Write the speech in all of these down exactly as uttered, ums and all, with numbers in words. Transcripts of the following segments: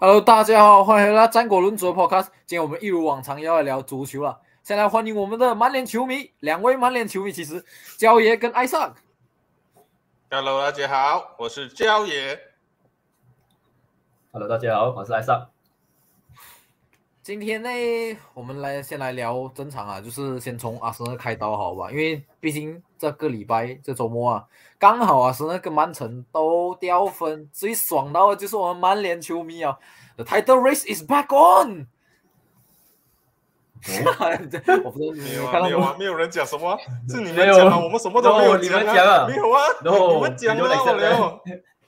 Hello，大家好，欢迎回来战果论足的 Podcast。今天我们一如往常要来聊足球了。先来欢迎我们的曼联球迷，两位曼联球迷，其实焦爷跟艾尚。 Hello， 大家好，我是焦爷。 Hello， 大家好，我是艾尚。 今天呢，我们来先来聊正常啊，就是先从阿森纳开刀好吧？因为毕竟这个礼拜这周末啊，刚好阿森纳跟曼城都掉分，最爽到的就是我们曼联球迷啊。The title race is back on 哦。 我不知道你没有啊， 看到没有啊，没有人讲什么，是你们讲啊，我们什么都没有讲啊，没有啊，你们讲啊，我聊。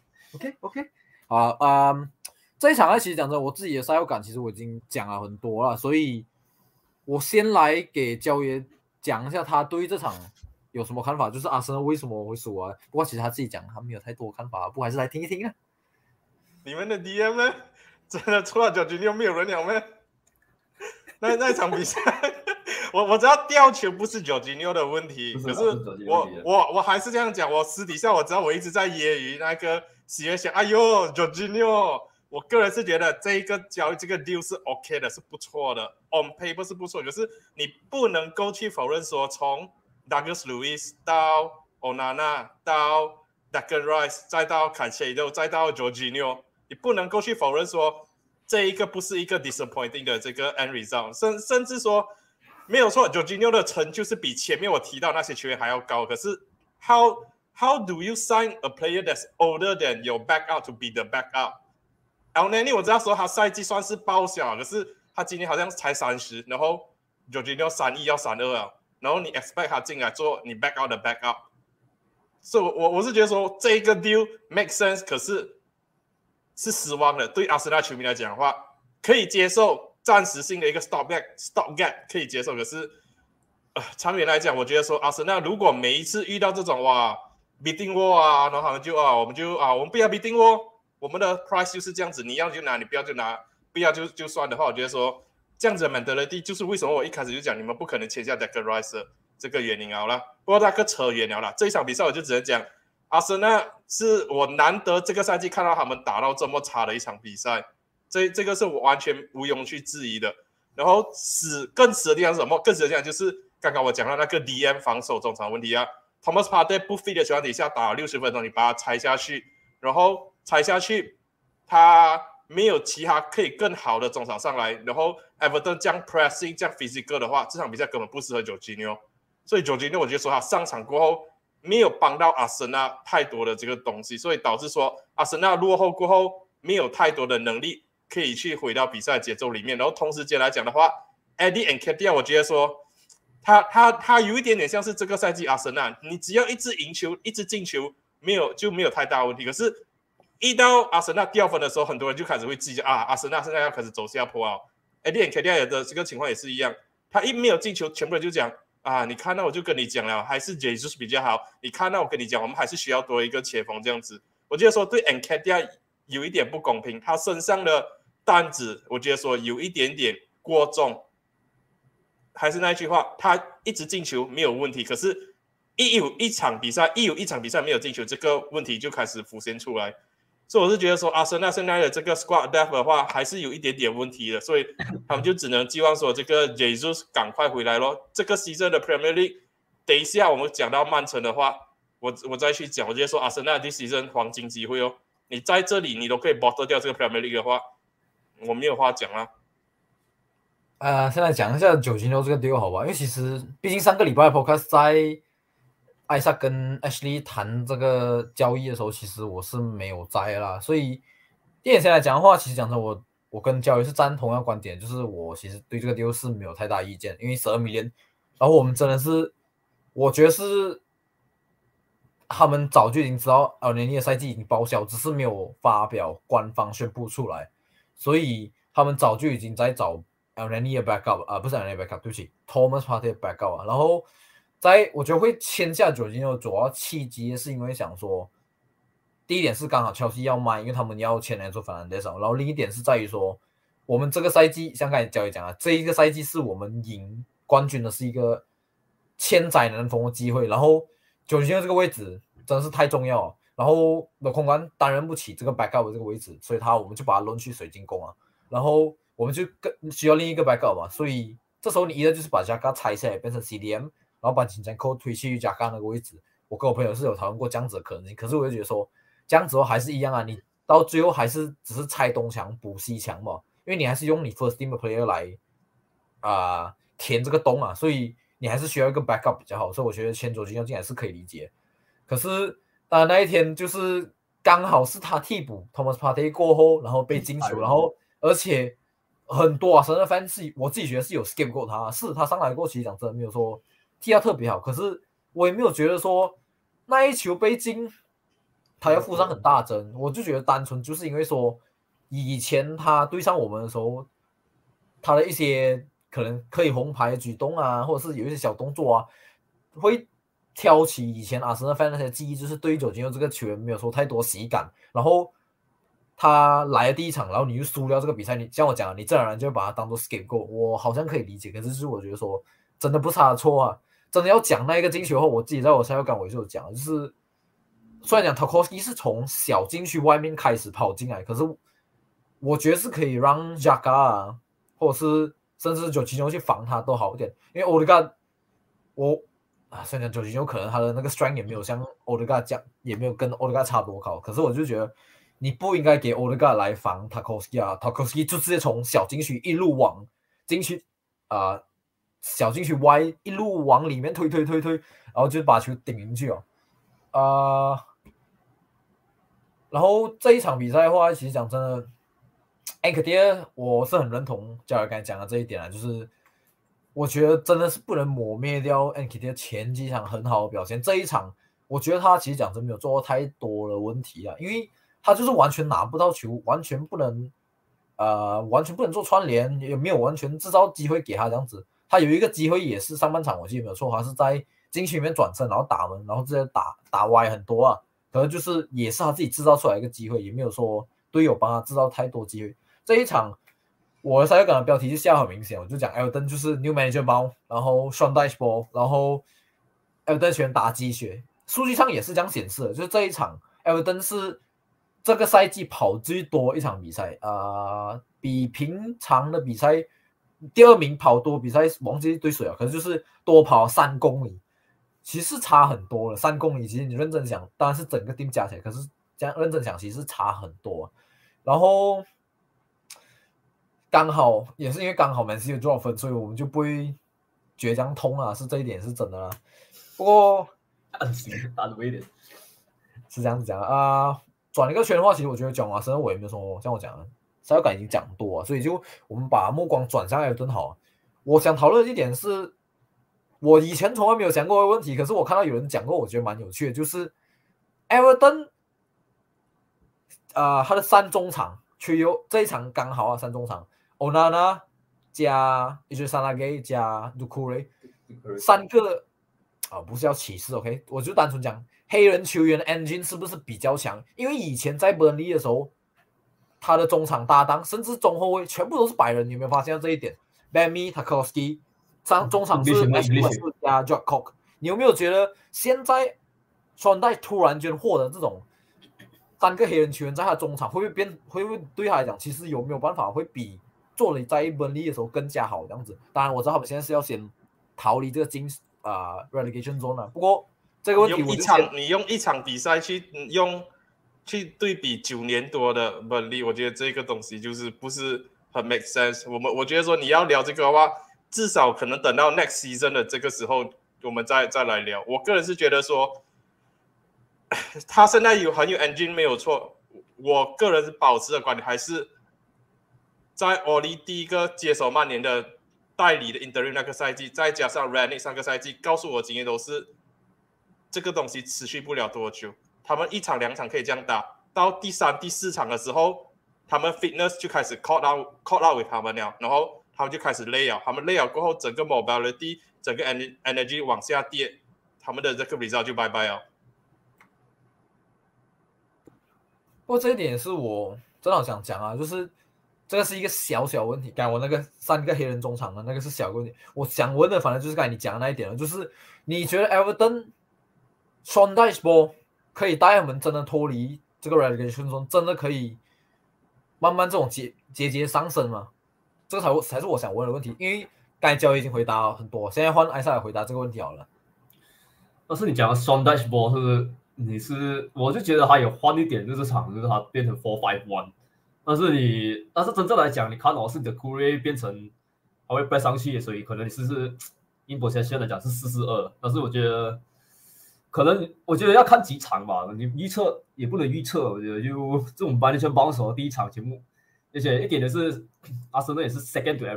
OK OK， 好，嗯。这一场呢，其实讲真，我自己的赛后感其实我已经讲了很多了，所以我先来给焦爷讲一下他对这场有什么看法，就是阿森纳为什么会输啊？不过其实他自己讲他没有太多看法，不过还是来听一听啊。 你们的 D M 呢？真的除了九局六没有人了咩？那那场比赛，我我知道吊球不是九局六的问题，可是我我我还是这样讲，我私底下我知道我一直在揶揄那个喜悦想，哎呦九局六。我个人是觉得这一个交易这个 deal 是 OK 的，是不错的 ，on paper 是不错，可是你不能够去否认说，从 Douglas Luiz 到 Onana 到 Declan Rice 再到 Caicedo 再到 Jorginho， 你不能够去否认说这一个不是一个 disappointing 的这个 end result， 甚甚至说没有错 ，Jorginho 的成就是比前面我提到那些球员还要高，可是 how how do you sign a player that's older than your backup to be the backup？Elneny 我知道说他赛季算是报销，可是他今年好像才三十，然后 Jorginho 三一要三二啊，然后你 expect 他进来做你 back out 的 back up， 所以我我是觉得说这个 deal make sense， 可是是失望的。对阿森纳球迷来讲的话，可以接受暂时性的一个 stop gap stop gap 可以接受，可是呃长远来讲，我觉得说阿森纳如果每一次遇到这种哇 beating war 啊，然后他们就啊我们就啊我们不要 beating war。我们的 price 就是这样子，你要就拿，你不要就拿，不要就就算的话，我觉得说这样子的 mentality 就是为什么我一开始就讲你们不可能签下 Declan Rice 这个原因好了。不过那个扯远了啦，这一场比赛我就只能讲，阿森纳是我难得这个赛季看到他们打到这么差的一场比赛，这这个是我完全毋庸去质疑的。然后死更死的地方是什么？更死的地方就是刚刚我讲到那个 D M 防守中场问题啊 ，Thomas Partey 不 fit 的情况底下打了六十分钟，你把它拆下去，然后。踩下去，他没有其他可以更好的中场上来，然后 Everton 这样 pressing 这样 physical 的话，这场比赛根本不适合Jorginho，所以Jorginho我觉得说他上场过后没有帮到阿森纳太多的这个东西，所以导致说阿森纳落后过后没有太多的能力可以去回到比赛节奏里面，然后同时间来讲的话 ，Eddie Nketiah 我觉得说他他他有一点点像是这个赛季阿森纳，你只要一直赢球，一直进球，没有就没有太大问题，可是。一到阿森纳掉分的时候，很多人就开始会计较啊，阿森纳现在要开始走下坡啊。Eddie Nketiah 的这个情况也是一样，他一没有进球，全部人就讲啊，你看到我就跟你讲了，还是 Jesus 比较好。你看到我跟你讲，我们还是需要多一个前锋这样子。我觉得说对 Nketiah 有一点不公平，他身上的担子，我觉得说有一点点过重。还是那句话，他一直进球没有问题，可是一有一场比赛，一有一场比赛没有进球，这个问题就开始浮现出来。所以我是觉得说，阿森纳现在的这个 squad depth 的话，还是有一点点问题的，所以他们就只能寄望说这个 Jesus 赶快回来咯。这个 season 的 Premier League， 等一下我们讲到曼城的话，我我再去讲。我觉得说阿森纳这 season 黄金机会哦，你在这里你都可以 bottle 掉这个 Premier League 的话，我没有话讲啦。 呃，现在讲一下九金牛这个 deal 好吧，因为其实毕竟上个礼拜 podcast 在。艾萨跟 Ashley 谈这个交易的时候，其实我是没有在啦，所以电影先来讲的话，其实讲真，我我跟交易是赞同样观点，就是我其实对这个 deal 是没有太大意见，因为十二 million， 然后我们真的是，我觉得是他们早就已经知道尔年尼的赛季已经报销，只是没有发表官方宣布出来，所以他们早就已经在找尔年尼的 backup 啊、呃，不是尔年尼的 backup， 对不起 ，Thomas Partey 的 backup 啊，然后。在我觉得会签下九金牛主要契机是因为想说，第一点是刚好切尔西要卖，因为他们要签来做Fernandes，然后另一点是在于说，我们这个赛季像刚才交易讲啊，这一个赛季是我们赢冠军的是一个千载难逢的机会，然后九金牛这个位置真的是太重要了， 然后的空干担任不起这个 backup 的这个位置，所以他我们就把他轮去水晶宫啊，然后我们就更需要另一个 backup 嘛，所以这时候你一个就是把 Jaga 拆下来变成 C D M， 然后把金江扣推去 Jaga 那个位置。我跟我朋友是有讨论过这样子的可能性，可是我就觉得说这样子后还是一样啊，你到最后还是只是拆东墙补西墙嘛，因为你还是用你 first team 的 player 来啊、呃、填这个洞啊，所以你还是需要一个 backup 比较好，所以我觉得签佐金牛进来是可以理解。可是当然那一天就是刚好是他替补 Thomas Partey 过后，然后被进球，然后而且很多啊，神的 fans 是我自己觉得是有 skip 过他，是他上来过，其实讲真的没有说踢他特别好，可是我也没有觉得说那一球被进他要负上很大针，我就觉得单纯就是因为说以前他对上我们的时候，他的一些可能可以红牌的举动啊，或者是有一些小动作啊，会挑起以前阿森纳 fan 那些记忆，就是对于jorginho这个球员没有说太多喜感，然后他来了第一场，然后你就输掉这个比赛，你像我讲，你自然而然就会把他当做 scapegoat，我好像可以理解，可是就是我觉得说真的不是他的错啊。真的要讲那一个进球后，我自己在我赛后感我就有讲，就是虽然讲 Tarkowski 是从小禁区外面开始跑进来，可是我觉得是可以让 Jaga 啊，或者是甚至jorginho去防他都好一点，因为 Odegaard 我啊，虽然讲jorginho可能他的那个 strength 也没有像 Odegaard 讲，也没有跟 Odegaard 差多高，可是我就觉得你不应该给 Odegaard 来防 Tarkowski 啊 ，Tarkowski 就直接从小禁区一路往禁区啊。呃小禁区歪一路往里面推推推推，然后就把球顶进去哦。啊、呃，然后这一场比赛的话，其实讲真的 ，Nketiah 我是很认同教练刚才讲的这一点啊，就是我觉得真的是不能抹灭掉 Nketiah 前几场很好的表现。这一场，我觉得他其实讲真没有做太多的问题啊，因为他就是完全拿不到球，完全不能呃，完全不能做串联，也没有完全制造机会给他这样子。他有一个机会也是上半场，我记得没有错，他是在禁区里面转身，然后打门，然后直接打打歪很多啊。可能就是也是他自己制造出来一个机会，也没有说队友帮他制造太多机会。这一场我的赛后感的标题就下很明显，我就讲 Everton 就是 New Manager 包，然后 Sean Dyche ball， 然后 Everton 全打鸡血，数据上也是这样显示的，就是这一场 Everton 是这个赛季跑最多一场比赛啊、呃，比平常的比赛。第二名跑多比赛忘记对谁了，可是就是多跑三公里，其实差很多了。三公里其实你认真想，当然是整个 team 加起来，可是这样认真想，其实差很多。然后刚好也是因为刚好 Man City 有多少分，所以我们就不会倔强通啊，是这一点是真的啦。不过暗行打多一点， 是这样子讲啊。转一个圈的话，其实我觉得讲华生我也没有说像我讲的。赛后感已经讲多了，所以就我们把目光转向埃弗顿好。我想讨论的一点是，我以前从来没有想过的问题，可是我看到有人讲过，我觉得蛮有趣的，就是埃弗顿，啊，他的三中场 trio 这一场刚好啊，三中场 Onana 加 Ijazanage 加 Doucouré 三个啊，不是要歧视 ，OK， 我就单纯讲黑人球员的 engine 是不是比较强？因为以前在本利的时候。他的中场搭档甚至中后卫全部都是白人，你有没有发现这一点 ？Bammy Tarkowski， 中场是 Ashworth 加 Jack Cook， 你有没有觉得现在川代突然间获得这种三个黑人球员在他中场，会不会变？会不会对他来讲，其实有没有办法会比做了在本利的时候更加好这样子？当然我知道他们现在是要先逃离这个金啊、呃、relegation zone 了，不过这个问题用一场你用一场比赛去用。去对比九年多的本利，我觉得这个东西就是不是很 make sense。我们我觉得说你要聊这个的话，至少可能等到 next season 的这个时候，我们再再来聊。我个人是觉得说，他现在有很有 engine 没有错。我个人是保持的观点，还是在 Oli 第一个接手曼联的代理的 interim 那个赛季，再加上 Ranić 上个赛季，告诉我经验都是这个东西持续不了多久。他们一场两场可以这样打，到第三、第四场的时候，他们 fitness 就开始 caught out caught out with 他们了，然后他们就开始累了，他们累了过后，整个 mobility 整个 energy 往下跌，他们的这个 result 就拜拜了。 不过这一点是我真的好想讲啊，就是这个是一个小小问题。刚才我那个三个黑人中场的那个是小问题，我想问的反正就是刚才你讲的那一点了，就是你觉得 Everton Sean Dyche ball 可以带他们真的脱离这个 relegation zone，真的可以慢慢这种节节节上升吗？这个才才是我想问的问题。因为刚才交易已经回答很多，现在换艾萨来回答这个问题好了。 但是你讲的 Sean Dashboard 是你是，我就觉得他有换一点，就是场就是他变成 four five one， 但是你但是真正来讲，你看哦是你的 Curry 变成他会 press 上去，所以可能你是是 in possession 来讲是四四二，但是我觉得可能我觉得要看几场吧，你预测也不能预测，我觉得就这种 management bounce 的第一场节目，而且一点的是阿森纳也是 second to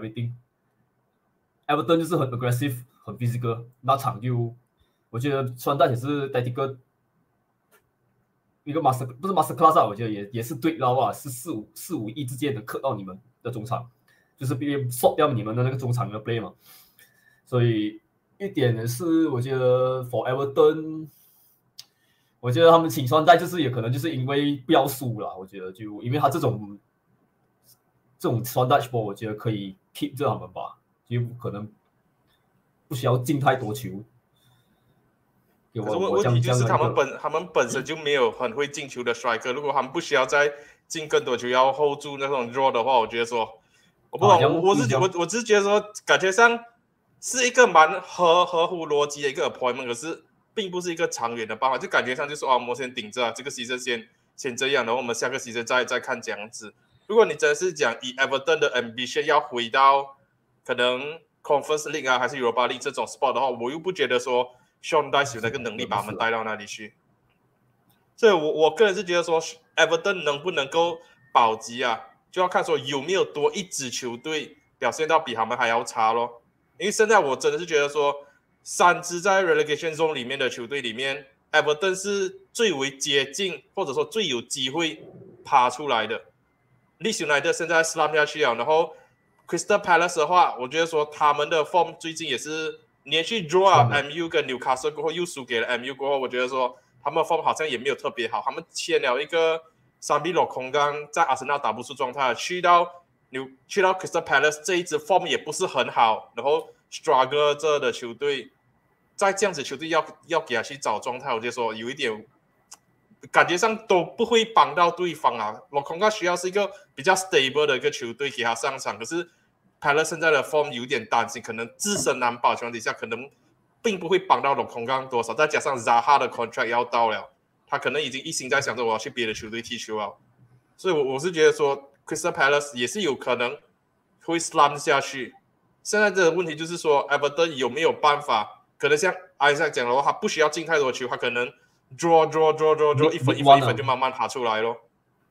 everything。Everton 就是很 aggressive 很 physical， 那场就我觉得川大也是 tactical 一个 master 不是 master class 啊，我觉得也也是对到啊，是四五四五一之间的克到你们的中场，就是别 short 掉你们的那个中场的 play 嘛。所以一点的是，我觉得 for Everton， 我觉得他们请川代就是也可能就是因为不要输啦，我觉得就因为他这种这种川代 ball， 我觉得可以 keep 着他们吧。就可能不需要进太多球。 可是问题就是他们本他们本身就没有很会进球的 striker， 如果他们不需要再进更多球，要 hold 住那种 draw 的话，我觉得说，我不懂，啊、我我是我我只是觉得说，感觉上是一个蛮合合乎逻辑的一个 appointment， 可是并不是一个长远的办法，就感觉上就是哦，我们先顶着、啊、这个 season 先先这样，然后我们下个 season 再再看这样子。如果你真的是讲以 Everton 的 ambition 要回到可能 Conference League 啊，还是 Europa League 这种 spot 的话，我又不觉得说 Sean Dyche 有那个能力把他们带到那里去。所以我我个人是觉得说 Everton 能不能够保级啊，就要看说有没有多一支球队表现到比他们还要差咯。因为现在我真的是觉得说，三支在 relegation zone 里面的球队里面 ，Everton 是最为接近或者说最有机会爬出来的。Leeds United 现在 slump 下去了，然后 Crystal Palace 的话，我觉得说他们的 form 最近也是连续 draw up M U 跟 Newcastle 过后又输给了 M U 过后，我觉得说他们的 form 好像也没有特别好。他们签了一个三比六空刚，在阿森纳打不出状态，去到去到 Crystal Palace 这一支 form 也不是很好，然后 struggle 这的球队，在这样子球队要要给他去找状态，我就说有一点。感觉上都不会帮到对方啊。洛空刚需要是一个比较 stable 的一个球队给他上场，可是 Palace 现在的 form 有点担心，可能自身难保情况底下，可能并不会帮到洛空刚多少。再加上 Zaha 的 contract 要到了，他可能已经一心在想着我要去别的球队踢球啊。所以我，我是觉得说 Crystal Palace 也是有可能会 slump 下去。现在的问题就是说 Everton 有没有办法？可能像艾萨讲的话，他不需要进太多球，他可能draw draw draw draw draw 一分一分一分就慢慢爬出来咯。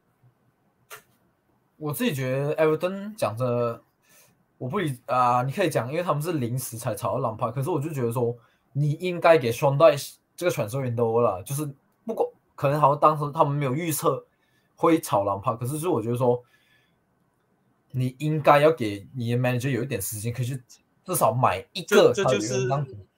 我自己觉得 Everton 讲着，我不理啊、呃，你可以讲，因为他们是临时才炒到朗帕，可是我就觉得说，你应该给 Sean Dyche 这个传授员都了，就是不管可能好像当时他们没有预测会炒朗帕，可是就是我觉得说，你应该要给你的 manager 有一点时间，可以去至少买一个这，这就是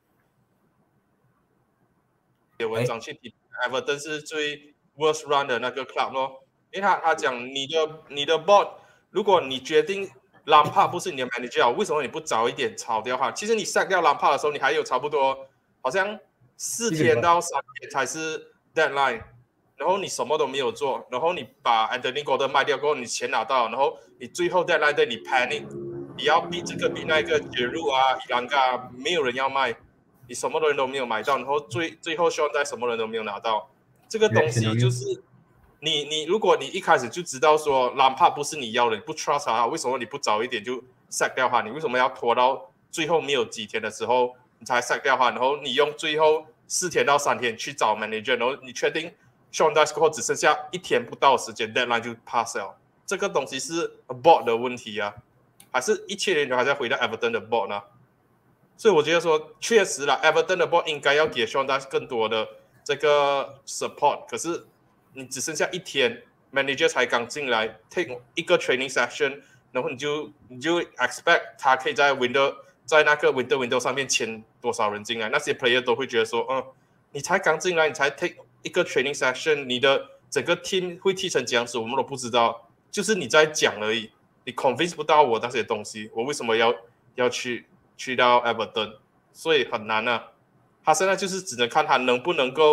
写文章去提 Everton 是最 worst run 的那个 club 咯，因为他他讲你的你的 board， 如果你决定 Lampard 不是你的 manager， 为什么你不早一点炒掉他？其实你 sack 掉 Lampard 的时候，你还有差不多好像四天到三天才是 deadline， 然后你什么都没有做，然后你把 Anthony Gordon 卖掉过后，你钱拿到，然后你最后 deadline 对你 panic， 你要逼这个逼那个杰入啊、伊兰嘎，没有人要卖。你什么人都没有买到，然后最最后希望在什么人都没有拿到，这个东西就是你你如果你一开始就知道说兰帕不是你要的，你不 trust 他，为什么你不早一点就 sack 掉他？你为什么要拖到最后没有几天的时候你才 sack 掉他？然后你用最后四天到三天去找 manager， 然后你确定 Sean Dyche 过后只剩下一天不到时间 deadline 就 pass 了，这个东西是 board 的问题啊，还是一切人都还在回到 Everton 的 board 呢？所以我觉得说，确实啦 ，Everton 的 board 应该要给 Sean Dyche 更多的这个 support。可是你只剩下一天 ，manager 才刚进来 ，take 一个 training session， 然后你就你就 expect 他可以在 window 在那个 window window 上面签多少人进来？那些 player 都会觉得说，嗯，你才刚进来，你才 take 一个 training session， 你的整个 team 会踢成这样子，我们都不知道，就是你在讲而已，你 convince 不到我那些东西，我为什么要要去？去到 Everton， 所以很难啊。他现在就是只能看他能不能够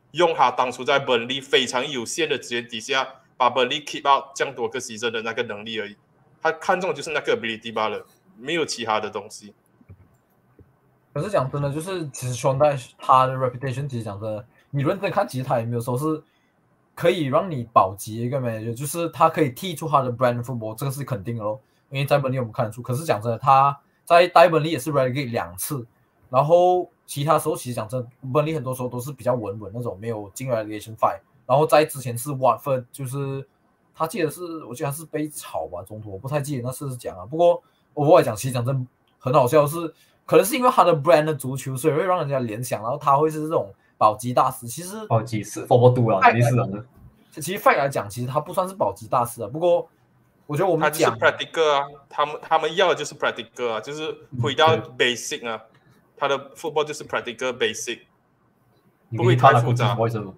用他当初在本利非常有限的资源底下，把本利 keep out 这样多个 season 的那个能力而已。他看中的就是那个 ability 罢了，没有其他的东西。 可是讲真的，就是其实双代他的 reputation， 其实讲真的，你认真看，其实他也没有说是可以让你保级的一个 manager， 就是他可以踢出他的 brand football， 这个是肯定的咯。因为在本利我们看得出，可是讲真的，他在带本利也是 relegate 两次，然后其他时候其实讲真的，本利很多时候都是比较稳稳那种，没有进 relegation fight。然后在之前是 Watford， 就是他记得是我记得他是被炒吧，中途我不太记得那次是讲啊。不过我来讲，其实讲真的很好笑的是。可能是因为他的 brand 的足球，所以会让人家联想，然后他会是这种保级大师。其实保级是 four two 啊，肯定是的。 其实 fact 来讲，其实他不算是保级大师啊。不过我觉得我们讲他就是 practical 啊，他们他们要的就是 practical 啊，就是回到 basic 啊。他的 football 就是 practical basic， 不会太复杂。 不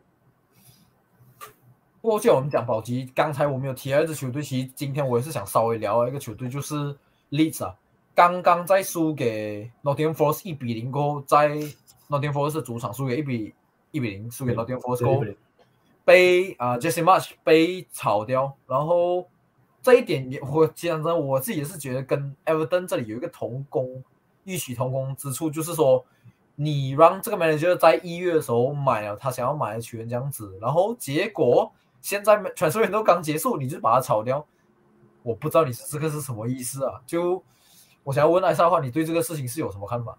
过就我们讲保级，刚才我们有提到一支球队，其实今天我也是想稍微聊一个球队，就是 Leeds 啊。刚刚在输给 Nottingham Forest 一比零过后，在 Nottingham Forest 的主场输给一比一比零，输给 Nottingham Forest 过后，被啊、呃、Jesse Marsch 被炒掉，然后这一点也我讲真，我自己也是觉得跟 Everton 这里有一个同工异曲同工之处，就是说你让这个 manager 在一月的时候买了他想要买的球员这样子，然后结果现在 transfer window 刚结束，你就把他炒掉，我不知道你这个是什么意思啊？就我想要问艾莎的话，你对这个事情是有什么看法？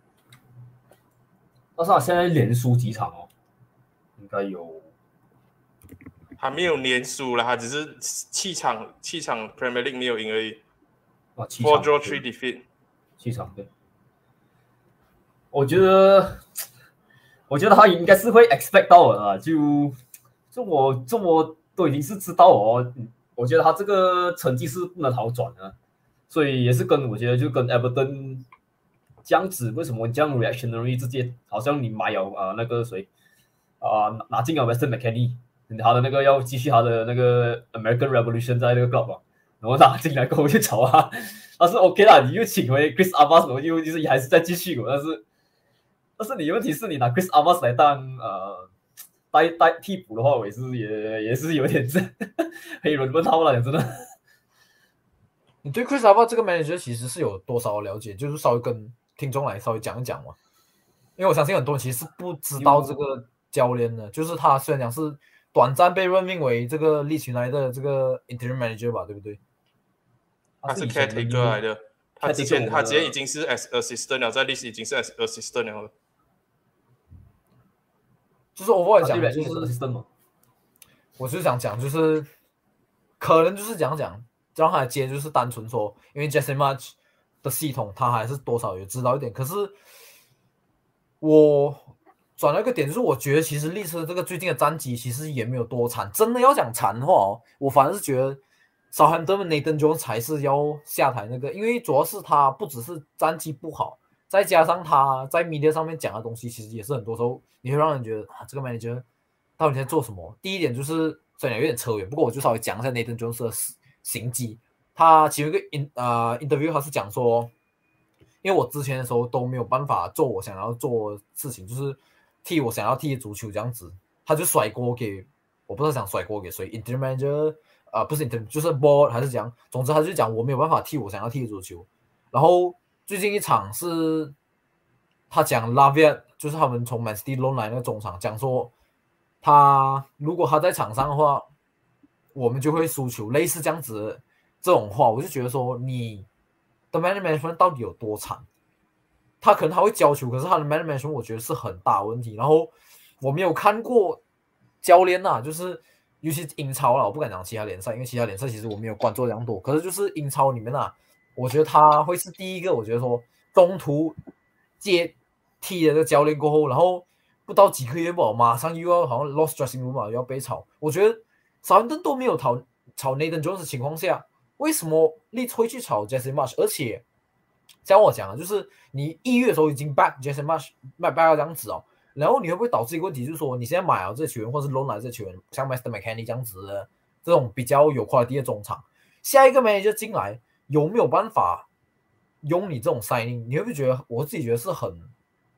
但是他现在连输几场哦，应该有， 还没有连输了，他只是七场七场 Premier League 没有赢而已。 啊，七场 four draw three defeat， 七场对。我觉得，我觉得他应该是会 expect 到的啊，就就我这么都已经是知道哦，我觉得他这个成绩是不能好转的。所以也是跟我觉得就跟 Everton 这样子，为什么这样 reactionary 直接好像你买了啊、呃、那个谁啊、呃、拿进了 Weston McKennie， 他的那个要继续他的那个 American Revolution 在那个 club 啊，然后拿进来过后就炒啊，但是 OK 啦，你又请回 Chris Armas， 然后又就是还是在继续，但是但是你问题是你拿 Chris Armas 来当呃代代替补的话，我也是也也是有点黑人问号了，讲真的。 你对 Chris Armas 这个 manager 其实是有多少了解？就是稍微跟听众来稍微讲一讲嘛。因为我相信很多人其实是不知道这个教练的，就是他虽然讲是短暂被任命为这个Leeds United的这个 interim manager 吧，对不对？ 他是 caretaker 来的，他之前他之前已经是 as assistant 了，在 Leeds 已经是 as assistant 了。 就是我来讲， 就是 assistant 嘛。 我就是想讲，就是可能就是讲讲。让他接就是单纯说，因为 Jesse Marsch 的系统他还是多少有知道一点。可是我转到一个点，就是我觉得其实利兹这个最近的战绩其实也没有多惨。真的要讲惨的话哦，我反而是觉得 Southampton 的 Nathan Jones 才是要下台那个，因为主要是他不只是战绩不好，再加上他在 media 上面讲的东西，其实也是很多时候你会让人觉得啊，这个 manager 到底在做什么？第一点就是虽然有点扯远，不过我就稍微讲一下 Nathan Jones 的事。行迹，他其中一个 in 呃 interview， 他是讲说，因为我之前的时候都没有办法做我想要做的事情，就是踢我想要踢的足球这样子，他就甩锅给我不知道想甩锅给谁 ，interim manager 呃不是 interim 就是 board 还是讲，总之他就讲我没有办法踢我想要踢的足球。然后最近一场是他讲 Lavia， 就是他们从 Man City loan 来那个中场，讲说他如果他在场上的话。我们就会输球，类似这样子的这种话，我就觉得说你的 man management 到底有多惨？他可能他会教球，可是他的 man management 我觉得是很大问题。然后我没有看过教练呐、啊，就是尤其英超啦，我不敢讲其他联赛，因为其他联赛其实我没有关注这样多。可是就是英超里面啊，我觉得他会是第一个，我觉得说中途接替了这个教练过后，然后不到几个月吧，马上又要好像 lost dressing room 嘛，又要被炒，我觉得。少伦敦都没有炒炒 Nathan Jones 的情况下，为什么Leeds会去炒 Jesse Marsch？ 而且像我讲的，就是你一月的时候已经 back Jesse Marsch 卖 back 到这样子哦，然后你会不会导致一个问题，就是说你现在买了这球员，或是 loan 来这球员，像 Weston McKennie 这样子的这种比较有 quality 的中场，下一个 manager 进来有没有办法用你这种 signing？ 你会不会觉得我自己觉得是很，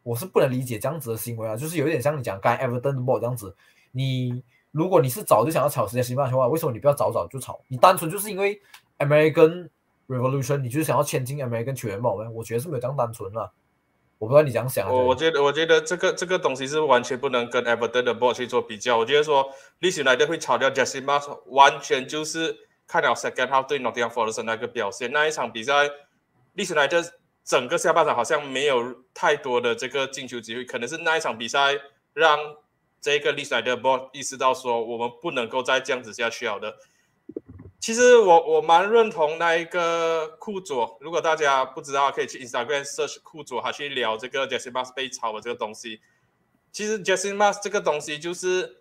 我是不能理解这样子的行为啊，就是有点像你讲刚才 Everton 的 board 这样子，你如果你是早就想要炒 Jesse Marsch 的话，为什么你不要早早就炒？你单纯就是因为 American Revolution， 你就是想要签进 American 球员吗？我觉得是没有这样单纯啦。我不知道你怎样想。 我我觉得，我觉得这个这个东西是完全不能跟 Everton 的 board 去做比较。我觉得说Leeds United会炒掉 Jesse Marsch， 完全就是看了 second half 对 Nottingham Forest 那个表现。那一场比赛 Leeds United 整个下半场好像没有太多的这个进球机会，可能是那一场比赛让这个 Leeds United board 意识到说我们不能够再这样子下去了的。其实我我蛮认同那一个库佐，如果大家不知道，可以去 Instagram search 库佐，他去聊这个 Jesse Marsch 被炒的这个东西。其实 Jesse Marsch 这个东西就是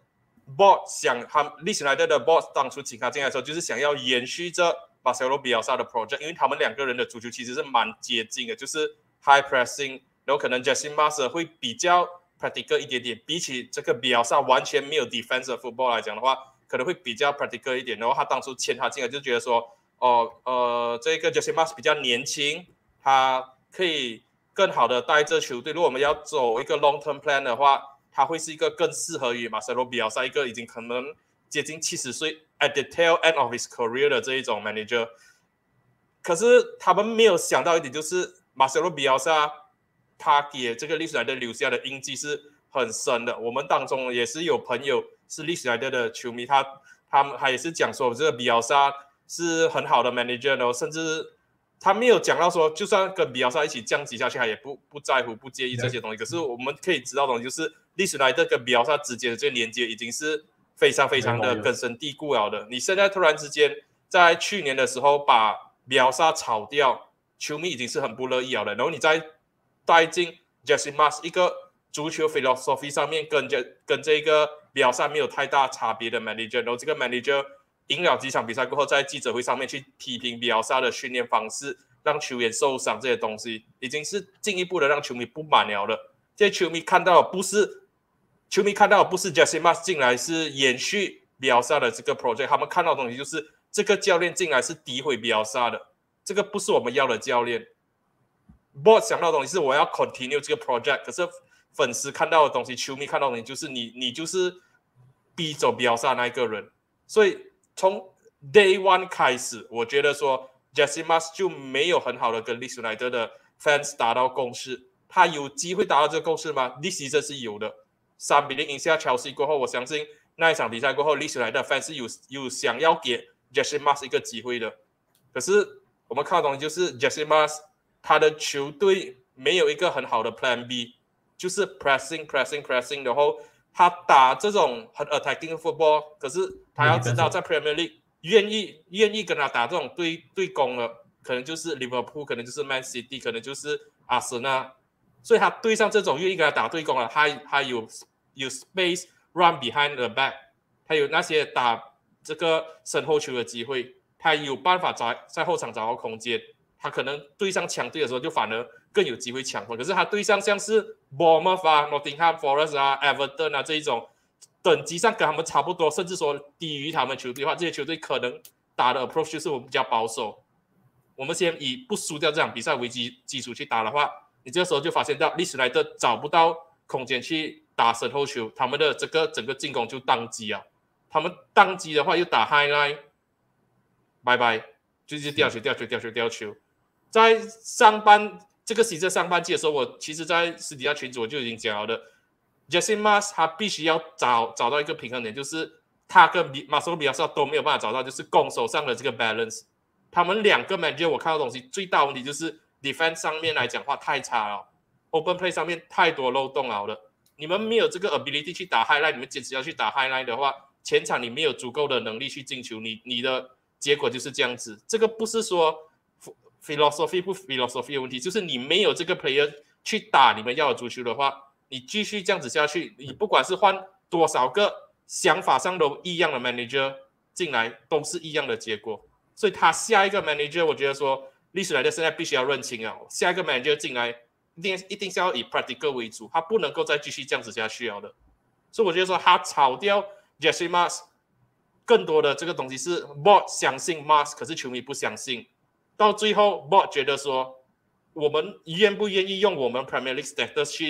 board 想他 Leeds United 的 board 当初请他进来的时候，就是想要延续着马塞罗比尔萨的 project， 因为他们两个人的足球其实是蛮接近的，就是 high pressing， 然后可能 Jesse Marsch 会比较 practical 一点点，比起这个比尔萨完全没有 defensive football 来讲的话。可能会比较 practical 一点，然后他当初签他进来就觉得说，哦呃，这个 Jesse Marsch 比较年轻，他可以更好的带这球队。如果我们要走一个 long term plan 的话，他会是一个更适合于马塞罗比尔萨一个已经可能接近七十岁 at the tail end of his career 的这一种 manager。可是他们没有想到一点，就是马塞罗比尔萨他给这个Leeds United留下的印记是很深的。我们当中也是有朋友。是Leeds United的球迷，他他们他也是讲说，这个比尔萨是很好的 manager， 然后甚至他没有讲到说，就算跟比尔萨一起降级下去，他也不不在乎、不介意这些东西。可是我们可以知道的东西就是 ，Leeds United 跟比尔萨之间的这个连接已经是非常非常的根深蒂固了的。你现在突然之间在去年的时候把比尔萨炒掉，球迷已经是很不乐意了的。然后你再带进 Jesse Marsch 一个足球 philosophy 上面跟这跟这个比尔萨没有太大差别的 manager， 然后这个 manager 赢了几场比赛过后，在记者会上面去批评比尔萨的训练方式，让球员受伤这些东西，已经是进一步的让球迷不满了的。这些球迷看到的不是球迷看到的不是 Jesse Marsch 进来是延续比尔萨的这个 project， 他们看到的东西就是这个教练进来是诋毁比尔萨的，这个不是我们要的教练。board 想到的东西是我要 continue 这个 project， 可是粉丝看到的东西，球迷看到的东西就是你你就是逼走比尔萨那一个人。所以从 day one 开始，我觉得说 Jesse Marsch 就没有很好的跟 Leeds United 的 fans 达到共识。他有机会达到这个共识吗？ This season 是有的。三比零赢下 Chelsea 过后，我相信那一场比赛过后 Leeds United 的 fans 是有有想要给 Jesse Marsch 一个机会的。可是我们看到的东西就是 Jesse Marsch 他的球队没有一个很好的 plan B， 就是 pressing pressing pressing， 然后他打这种很 attacking football， 可是他要知道在 Premier League 愿意愿意跟他打这种对对攻的，可能就是 Liverpool， 可能就是 Man City， 可能就是阿森纳，所以他对上这种愿意跟他打对攻的，他他有有 space run behind the back， 他有那些打这个身后球的机会，他有办法在在后场找到空间。他可能对上强队的时候就反而更有机会抢分，可是他对上像是 Bournemouth 啊、Nottingham Forest 啊、Everton 啊这一种等级上跟他们差不多，甚至说低于他们球队的话，这些球队可能打的 approach 就是我们比较保守。我们先以不输掉这场比赛为基基础去打的话，你这个时候就发现到Leeds United找不到空间去打身后球，他们的这个整个进攻就宕机啊。他们宕机的话又打 high line， 拜拜，就是掉球掉球掉球掉球。在上半这个赛季上半季的时候，我其实在私底下群组我就已经讲了的 ，Jesse Marsch 他必须要找找到一个平衡点，就是他跟马塞罗比尔萨都没有办法找到，就是攻守上的这个 balance。他们两个 manager 我看到的东西最大问题就是 defense 上面来讲话太差了 ，open play 上面太多漏洞了的。你们没有这个 ability 去打 highlight， 你们坚持要去打 highlight 的话，前场你没有足够的能力去进球，你你的结果就是这样子。这个不是说philosophy 不 philosophy 的问题，就是你没有这个 player 去打你们要的足球的话，你继续这样子下去，你不管是换多少个想法上都一样的 manager 进来，都是一样的结果。所以他下一个 manager， 我觉得说历史来的现在必须要认清啊，下一个 manager 进来一定一定是要以 practical 为主，他不能够再继续这样子下去了的。所以我觉得说他炒掉 Jesse Marsch， 更多的这个东西是 board 相信 Marsch， 可是球迷不相信。到最后 board 觉得说我们愿不愿意用我们 Premier League status 去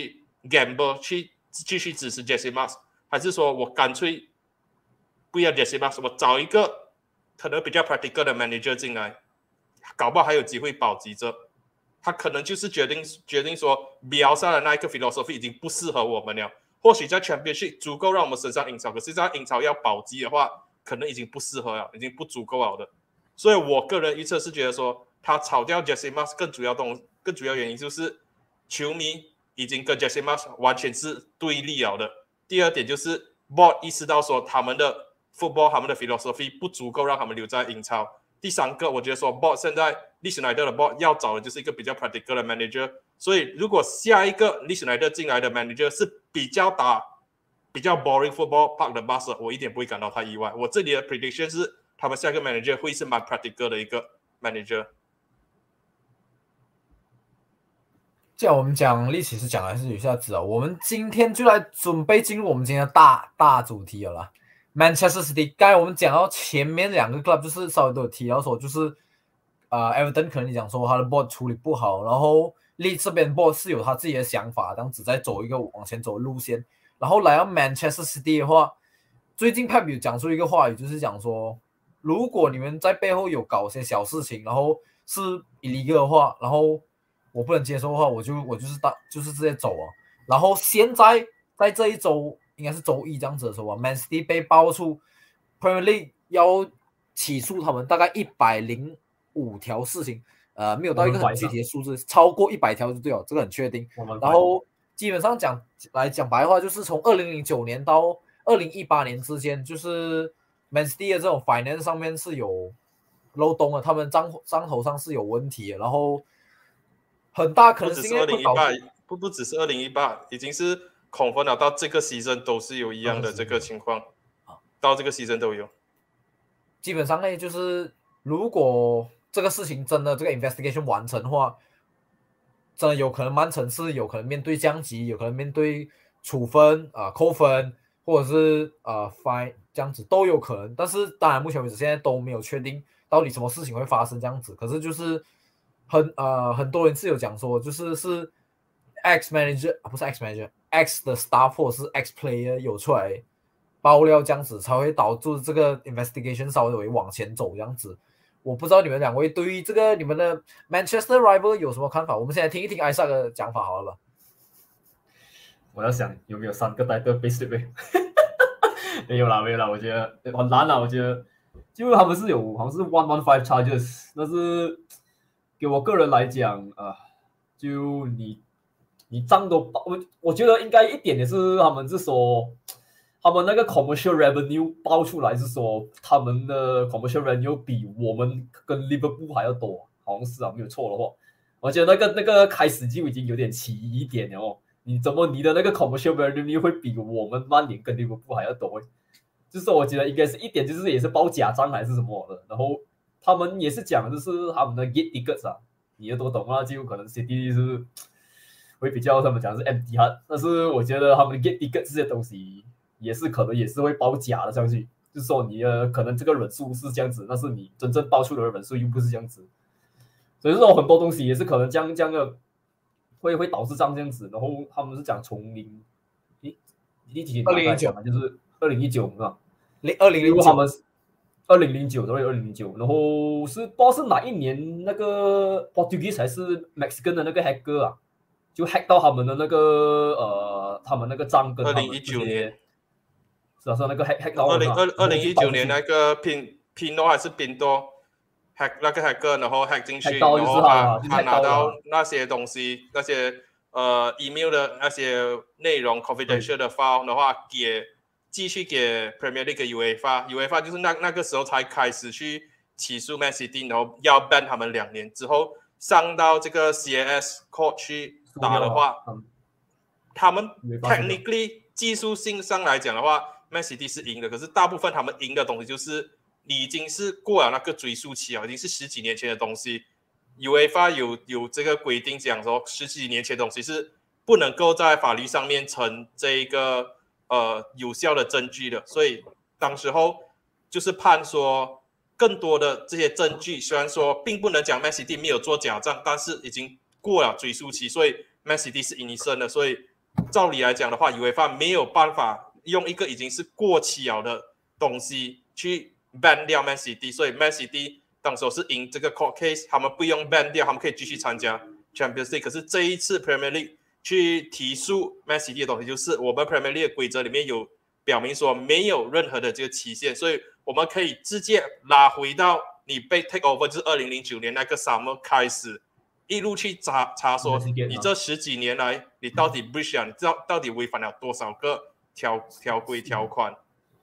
gamble 去继续支持 Jesse Marsch， 还是说我干脆不要 Jesse Marsch， 我找一个可能比较 practical 的 manager 进来，搞不好还有机会保级着。他可能就是决定决定说 Bielsa 的那一个 philosophy 已经不适合我们了。或许在 Championship 足够让我们升上英超，可是在英超要保级的话，可能已经不适合了，已经不足够了的。所以我个人预测是觉得说，他炒掉 Jesse Marsch 更主要东更主要原因就是球迷已经跟 Jesse Marsch 完全是对立了的。第二点就是 Board 意识到说他们的 football 他们的 philosophy 不足够让他们留在英超。第三个，我觉得说 Board 现在Leeds United的 Board 要找的就是一个比较 practical 的 manager， 所以如果下一个 Leeds United 进来的 manager 是比较打比较 boring football park 的 Barca， 我一点不会感到太意外。我这里的 prediction 是他们下一个 manager 会是蛮 practical 的一个 manager。 既然我们讲历史是讲还是有下子啊，我们今天就来准备进入我们今天的大大主题了啦。Manchester City， 刚才我们讲到前面两个 club 就是稍微都有提到说，就是呃 Everton 可能你讲说他的 board 处理不好，然后 Leeds 这边 board 是有他自己的想法，这样子在走一个往前走的路线。然后来到 Manchester City 的话，最近 Pep 有讲出一个话语，就是讲说，如果你们在背后有搞些小事情，然后是 illegal 的话，然后我不能接受的话，我就我就是大就是直接走啊。然后现在在这一周。应该是周一这样子的时候啊 ，Man City 被爆出 Premier League 要起诉他们大概一百零五条事情，呃，没有到一个很具体的数字，超过一百条就对了，这个很确定。然后基本上讲来讲白话，就是从二零零九年到二零一八年之间，就是 Man City 的这种 finance 上面是有漏洞的，他们账账头上是有问题的，然后很大可能是因为会导致不不只是二零一八，已经是。恐分了到这个 season 都是有一样的这个情况，到这个 season 都有。 基本上呢，就是如果这个事情真的这个 investigation 完成的话，真的有可能曼城是有可能面对降级，有可能面对处分啊、呃、扣分，或者是呃 fine 这样子都有可能。但是当然目前为止现在都没有确定到底什么事情会发生这样子。可是就是很呃很多人是有讲说，就是是 X manager 啊不是 X manager。X 的 staff 或者是 X player 有出来爆料这样子，才会导致这个 investigation 稍微往前走这样子。我不知道你们两位对于这个你们的 Manchester rival 有什么看法？我们现在听一听艾萨的讲法好了吧。 我要想有没有三个 title base 对没有啦没有啦，我觉得很难啦，我觉得就他们是有好像是 one one five charges， 但是给我个人来讲啊、呃，就你。你账都报，我我觉得应该一点也是他们是说，他们那个 commercial revenue 报出来是说，他们的 commercial revenue 比我们跟 Liverpool 还要多，好像是啊，没有错的话，我觉得那个那个开始就已经有点奇异一点了哦。你怎么你的那个 commercial revenue 会比我们曼联跟 Liverpool 还要多？就是我觉得应该是一点，就是也是报假账还是什么的。然后他们也是讲就是他们的 gate tickets 啊，你也都懂啊，就可能 City 是。会比较他们讲是 empty 哈，但是我觉得他们 get ticket 这些东西也是可能也是会包假的上去，就是说你的可能这个人数是这样子，但是你真正报出的人数又不是这样子，所以说很多东西也是可能这样这样的会会导致这样这样子，然后他们是讲从零一一几年二零零九就是二零一九是吧？ 零二零零九他们二零零九对二零零九，然后是不知道是哪一年那个 Portuguese 还是 Mexican 的那个 hacker 啊。就 hack 到他们的那个呃，他们那个账跟二零一九年， 是啊，是那个 hack hack 到二零二二零一九年那个拼拼多还是拼多 hack 那个 hacker， 然后 hack 进去，然后他他拿到那些东西，那些呃 email 的那些内容 confidential 的 file 的话，给继续给 Premier League UEFA，UEFA 就是那那个时候才开始去起诉 Man City， 然后要 ban 他们两年之后，上到这个 C A S court 去。打的话，嗯、他们 technically 技术性上来讲的话 ，Man City 是赢的。可是大部分他们赢的东西就是你已经是过了那个追溯期啊，已经是十几年前的东西。UEFA 有有这个规定讲说，十几年前的东西是不能够在法律上面成这一个呃有效的证据的。所以当时候就是判说，更多的这些证据，虽然说并不能讲 Man City 没有做假账，但是已经过了追溯期，所以 Man City 是innocent的，所以照理来讲的话 UEFA 没有办法用一个已经是过期了的东西去 ban 掉 Man City， 所以 Man City 当时是赢这个 court case， 他们不用 ban 掉，他们可以继续参加 Champions League。可是这一次 Premier League 去提速 Man City 的东西，就是我们 Premier League 的规则里面有表明说没有任何的这个期限，所以我们可以直接拉回到你被 take over， 就是二零零九年那个 summer 开始，一路去查查说你这十几年来你到底 breach 了，你知道到底违反了多少个条条规条款？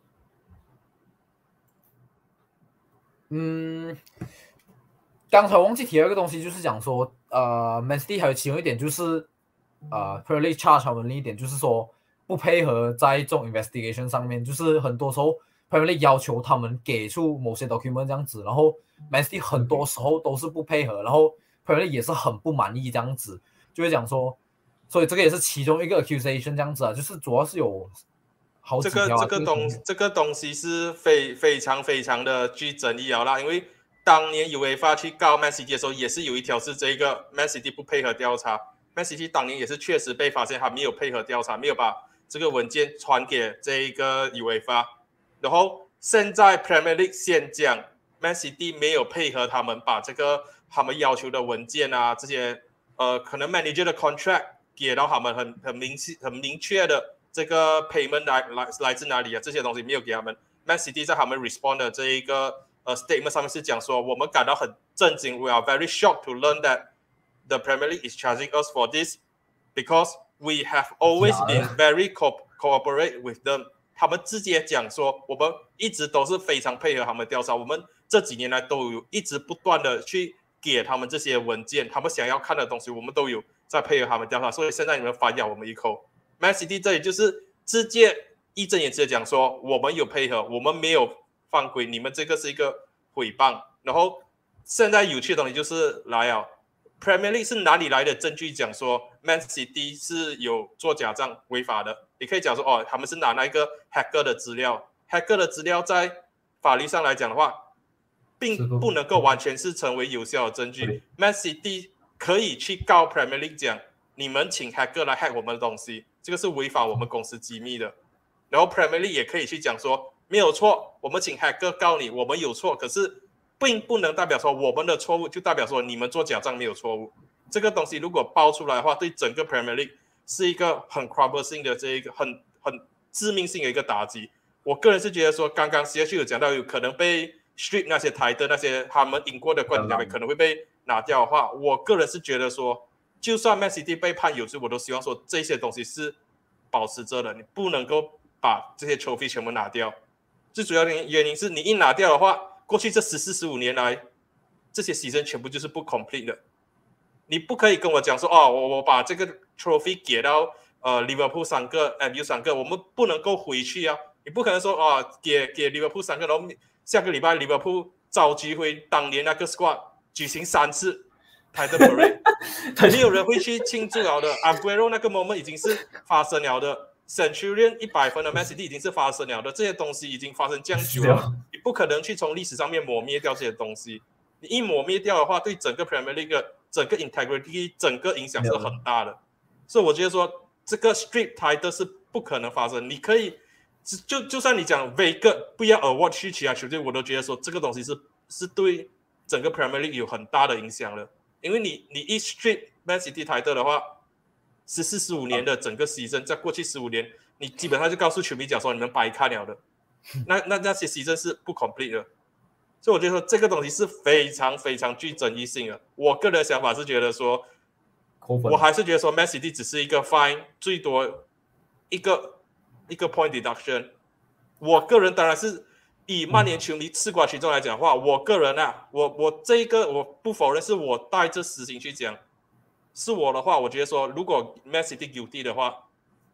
嗯，刚才忘记提了一个东西，就是讲说，呃 ，Man City 还有其中一点就是，呃 ，Premier League charge 他们另一点就是说不配合在这种 investigation 上面，就是很多时候 Premier League 要求他们给出某些 document 这样子，然后 Man City 很多时候都是不配合，然后 Premier League 也是很不满意这样子，就会讲说，所以这个也是其中一个 accusation 这样子啊，就是主要是有好几条、啊、 这个这个东这个东西是非非常非常的具争议啊啦，因为当年 UEFA 去告 Man City 的时候，也是有一条是这个 Man City 不配合调查 ，Man City 当年也是确实被发现他没有配合调查，没有把这个文件传给这一个 UEFA， 然后现在 Premier League 先讲 Man City 没有配合他们把这个他们要求的文件啊这些呃可能 manager 的 contract 给到他们很很明很明确的这个 payment 来来来自哪里啊？这些东西没有给他们。Man City 在他们 respond 的这一个呃 statement 上面是讲说，我们感到很震惊 ，We are very shocked to learn that the Premier League is charging us for this because we have always been very co cooperate with them。他们直接讲说，我们一直都是非常配合他们调查，我们这几年来都有一直不断的去给他们这些文件，他们想要看的东西，我们都有在配合他们调查，所以现在你们反咬我们一口。Man City 这里就是直接义正言辞的讲说，我们有配合，我们没有犯规，你们这个是一个诽谤。然后现在有趣的东西就是来啊 ，Premier League 是哪里来的证据讲说 Man City 是有做假账违法的？你可以讲说哦，他们是拿那个 hacker 的资料 ，hacker 的资料在法律上来讲的话，并不能够完全是成为有效的证据。Man City 可以去告 Premier League 讲，你们请 hacker 来 hack 我们的东西。这个是违反我们公司机密的，然后 Premier League 也可以去讲说没有错，我们请 hacker 告你，我们有错，可是并不能代表说我们的错误就代表说你们做假账没有错误。这个东西如果爆出来的话，对整个 Premier League 是一个很 crumbling 性的这一个很很致命性的一个打击。我个人是觉得说，刚刚 C H 有讲到有可能被 strip 那些台的那些他们赢过的冠军可能会被拿掉的话，我个人是觉得说。就算 Man City 被判有罪，我都希望说这些东西是保持着的，你不能够把这些 trophy 全部拿掉。最主要的原因是你一拿掉的话，过去这十四十五年来，这些season全部就是不 complete 的。你不可以跟我讲说哦，我我把这个 trophy 给到呃 Liverpool 三个 ，M U 三个，我们不能够回去啊！你不可能说哦，给给 Liverpool 三个，然后下个礼拜 Liverpool 召集回当年那个 squad 举行三次。Title Parade 没有人会去庆祝了的 Aguero 那个 moment 已经是发生了的 Centurion 一百分的 Man City 已经是发生了的，这些东西已经发生这样久了，你不可能去从历史上面磨灭掉这些东西，你一磨灭掉的话，对整个 Premier League 整个 integrity 整个影响是很大的，所以我觉得说这个 strip title 是不可能发生，你可以就就算你讲 Vega 不要 award 去其他球队，我都觉得说这个东西是是对整个 Premier League 有很大的影响的。因为你你一 strip Man City title 的话，十四十五年的整个 season， 在过去十五年，你基本上就告诉球迷讲说你们白看了的，那那那些 season 是不 complete 的，所以我觉得说这个东西是非常非常具争议性的。我个人的想法是觉得说，我还是觉得说 Man City 只是一个 fine， 最多一个一个 point deduction。我个人当然是。以曼联球迷吃瓜群众来讲的话，我个人啊，我我这一个我不否认是我带着私心去讲，是我的话，我觉得说如果 Man City guilty 的话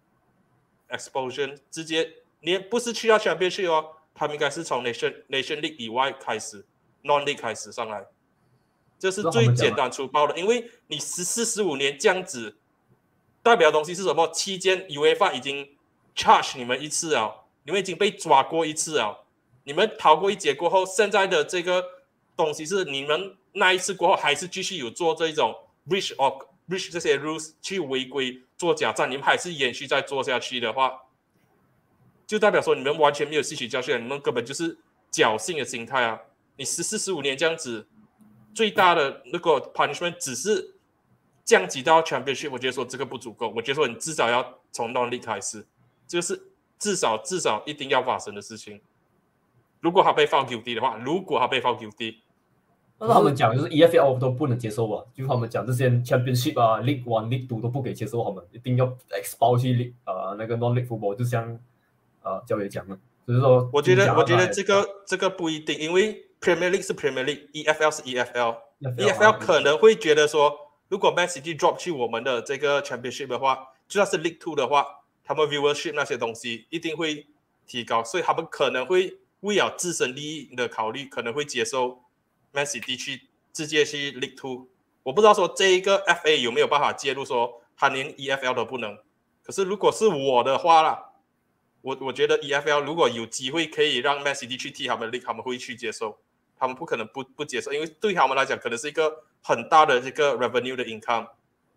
，expulsion 直接连不是去到 Championship 哦，他们应该是从 Nation Nation League 以外开始 ，Non League 开始上来，这是最简单粗暴的，因为你十四十五年这样子，代表的东西是什么？期间 UEFA 已经 charge 你们一次啊，你们已经被抓过一次啊。你们逃过一劫过后，现在的这个东西是你们那一次过后还是继续有做这种 breach of breach 这些 rules 去违规做假账，你们还是延续在做下去的话，就代表说你们完全没有吸取教训，你们根本就是侥幸的心态啊！你十四十五年这样子，最大的那个 punishment 只是降级到 championship， 我觉得说这个不足够，我觉得说你至少要从 non-league 开始，这个是至少至少一定要发生的事情。如果他被 found guilty 的话，如果他被 found guilty， 但是他们讲就是 E F L 都不能接受吧，就是他们讲这些 championship 啊 League One、League Two 都不可以接受，他们一定要 expel 去呃那个 non-league football， 就像呃教练讲的，就是说， 我觉得我觉得这个这个不一定，因为 Premier League 是 Premier League，E F L 是 E F L，E F L 可能会觉得说，如果 Man City drop 去我们的这个 championship 的话，就算是 League Two 的话，他们 viewership 那些东西一定会提高，所以他们可能会为了自身利益的考虑，可能会接受 Man City 去直接去 League Two。我不知道说这一个 F A 有没有办法介入，说他连 E F L 都不能。可是如果是我的话啦，我我觉得 E F L 如果有机会可以让 Man City 去踢他们的 League， 他们会去接受，他们不可能不不接受，因为对他们来讲可能是一个很大的这个 revenue 的 income。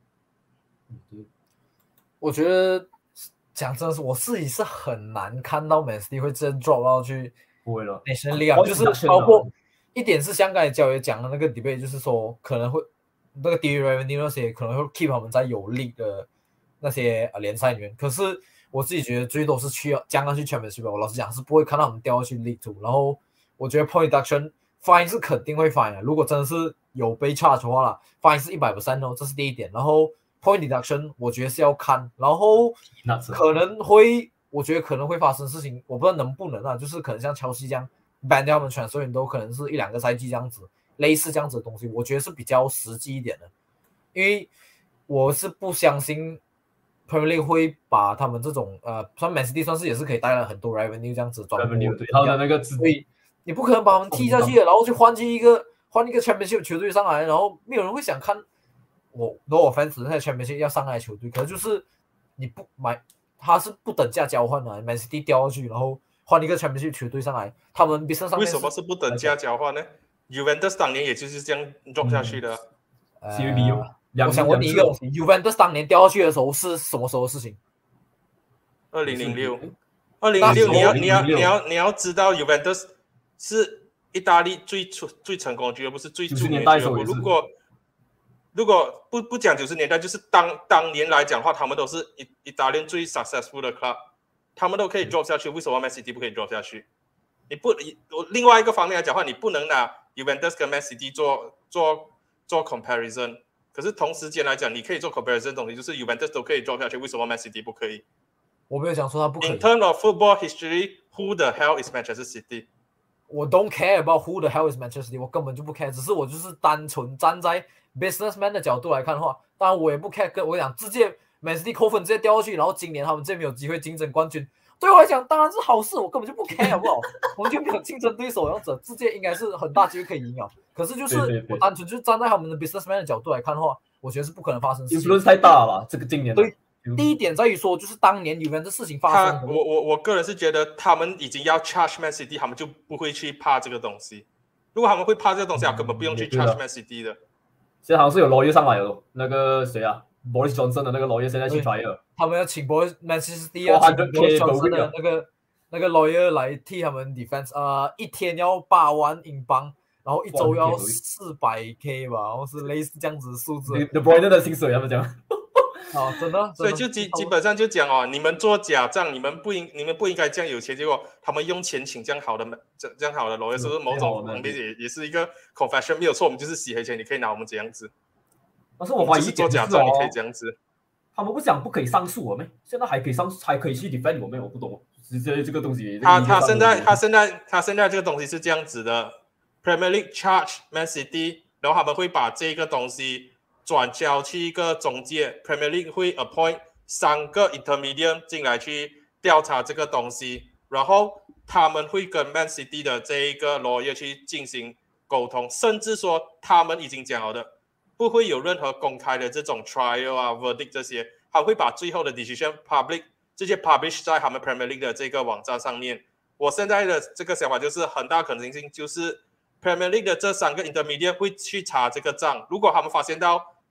我觉得讲真的是，我自己是很难看到 Man City 会真 drop 到去不会了 National League， 就是包括一点是香港的教练讲的那个 debate， 就是说可能会那个 T V revenue 那些可能会 keep 他们在有 league 的那些联赛里面，可是我自己觉得最多是去将要去 Championship， 我老实讲是不会看到他们掉下去 League Two。然后我觉得 point deduction fine 是肯定会 fine 的，如果真的是有被 charge 的话啦 ，fine 是 百分之百 哦，这是第一点。然后 point deduction 我觉得是要看，然后可能会，我觉得可能会发生事情，我不知道能不能啊，就是可能像乔西这样 ban 掉他们transfer员都可能是一两个赛季这样子，类似这样子的东西，我觉得是比较实际一点的，因为我是不相信。Premier League 会把他们这种呃，算 Man City 算是也是可以带来很多 revenue 这样子转播， 对，他的那个， 所以你不可能把他们踢下去了，然后去换进一个换一个 Championship 球队上来，然后没有人会想看我 no offense 那 Championship 要上来的球队，可是就是你不买，他是不等价交换的 ，Man City 掉下去，然后换一个 Championship 球队上来，他们 business 上面为什么是不等价交换呢 ？Juventus 当年也就是这样 drop 下去的。 嗯、 C V B 有。 我想问你一个东西 ，Juventus 当年掉下去的时候是什么时候的事情？ 二零零六，二零零六，你要你要你要你要知道 ，Juventus 是意大利最最成功的俱乐部，是最著名的俱乐部。如果如果不不讲九十年代，就是当当年来讲的话，他们都是意意大利最 successful 的 club， 他们都可以 drop 下去，为什么 Man City 不可以 drop 下去？你不，另外一个方面来讲的话，你不能拿 Juventus 跟 Man City 做做做 comparison。可是同时间来讲，你可以做 comparison 的东西，就是 Juventus 都可以 drop 下去，为什么 Man City 不可以？ 我没有讲说他不可以。 In terms of football history, who the hell is Manchester City？ 我 don't care about who the hell is Manchester City， 我根本就不 care， 只是我就是单纯站在 businessman 的角度来看的话，当然我也不 care。跟我讲，直接 Man City 扣分直接掉下去，然后今年他们直接没有机会竞争冠军，对我来讲当然是好事，我根本就不 care， 好不好？完全没有竞争对手，然后直接应该是很大机会可以赢啊。可是就是我单纯就是站在他们的 businessman 的角度来看的话，我觉得是不可能发生事情。 influence 太大了吧？这个今年对，第一点在于说，就是当年有没有这事情发生。 我我我个人是觉得他们已经要 charge Man City， 他们就不会去怕这个东西。如果他们会怕这个东西，他根本不用去 charge Man City 的。 现在好像是有 lawyer 上来了，那个谁啊 ，Boris Johnson 的那个 lawyer 现在去 trial， 他们要请 Boris Man City 要请 Boris Johnson 的那个那个 lawyer 来替他们 defense， 呃，一天要八万英镑。然后一周要四百 K 吧，然后是类似这样子的数字。 The Bruyne 的薪水他们讲。 哦，真的。 所以就基基本上就讲哦，你们做假账，你们不应你们不应该这样有钱，结果他们用钱请这样好的这这样好的 lawyer， 是不是某种旁边也也是一个 confession？ 没有错，我们就是洗黑钱，你可以拿我们这样子。 但是我怀疑做假账你可以这样子。 他们不讲不可以上诉我们，现在还可以上还可以去 defend 我们，我不懂，这这个东西。 他他现在他现在他现在这个东西是这样子的。Premier League charge Man City， 然后他们会把这个东西转交去一个中介 ，Premier League 会 appoint 三个 intermediate 进来去调查这个东西，然后他们会跟 Man City 的这一个 lawyer 去进行沟通，甚至说他们已经讲好的，不会有任何公开的这种 trial 啊 verdict 这些，他会把最后的 decision public 直接 publish 在他们 Premier League 的这个网站上面。我现在的这个想法就是很大可能性就是。Premier League 的这三个 intermediate 会去查这个账，如果他们发现到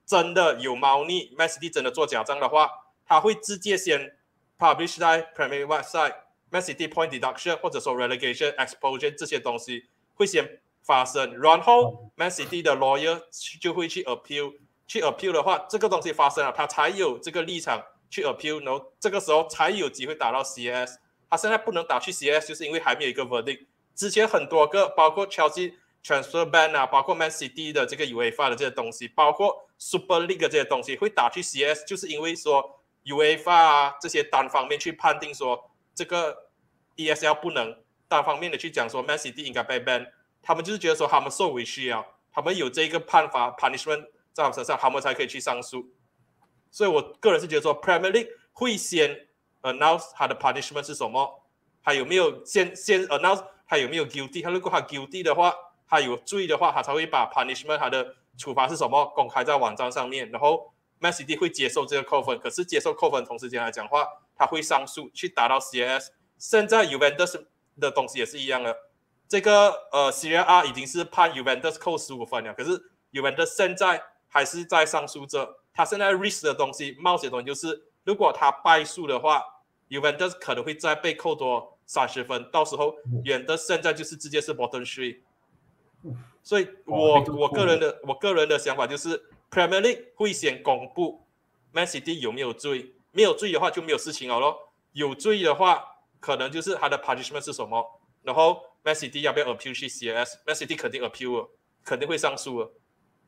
真的有猫腻 ，Man City 真的做假账的话，他会直接先 publish 在 Premier website。Man City point deduction 或者说 relegation exposure 这些东西会先发生，然后 Man City 的 lawyer 就会去 appeal， 去 appeal 的话，这个东西发生了，他才有这个立场去 appeal， 然后这个时候才有机会打到 C A S。他现在不能打去 C A S， 就是因为还没有一个 verdict。之前很多个，包括 Chelsea transfer ban 啊，包括 Man City 的这个 UEFA 的这些东西，包括 Super League 的这些东西会打去 C A S， 就是因为说 UEFA 啊这些单方面去判定说。这个 E S L 不能单方面的去讲说 Man City 应该被 ban， 他们就是觉得说他们受委屈啊，他们有这个判罚 punishment 在他们身上，他们才可以去上诉。所以我个人是觉得说 Premier League 会先 announce 他的 punishment 是什么，还有没有先先 announce 他有没有 guilty， 他如果他 guilty 的话，他有罪的话，他才会把 punishment 他的处罚是什么公开在网站上面，然后 Man City 会接受这个扣分，可是接受扣分同时间来讲话。他会上诉去打到 C A S， 现在 Juventus 的东西也是一样的，这个呃 Serie A 已经是判 Juventus 扣十五分了，可是 Juventus 现在还是在上诉着，他现在 risk 的东西冒险的东西就是，如果他败诉的话 ，Juventus 可能会再被扣多三十分，到时候 Juventus 现在就是直接是 bottom three， 所以我我个人的我个人的想法就是 Premier League 会先公布 Man City 有没有罪。没有罪的话就没有事情了咯，有罪的话可能就是他的 punishment 是什么，然后 Man City 要不要 appeal 去 C A S，Man City 肯定 appeal 了，肯定会上诉了。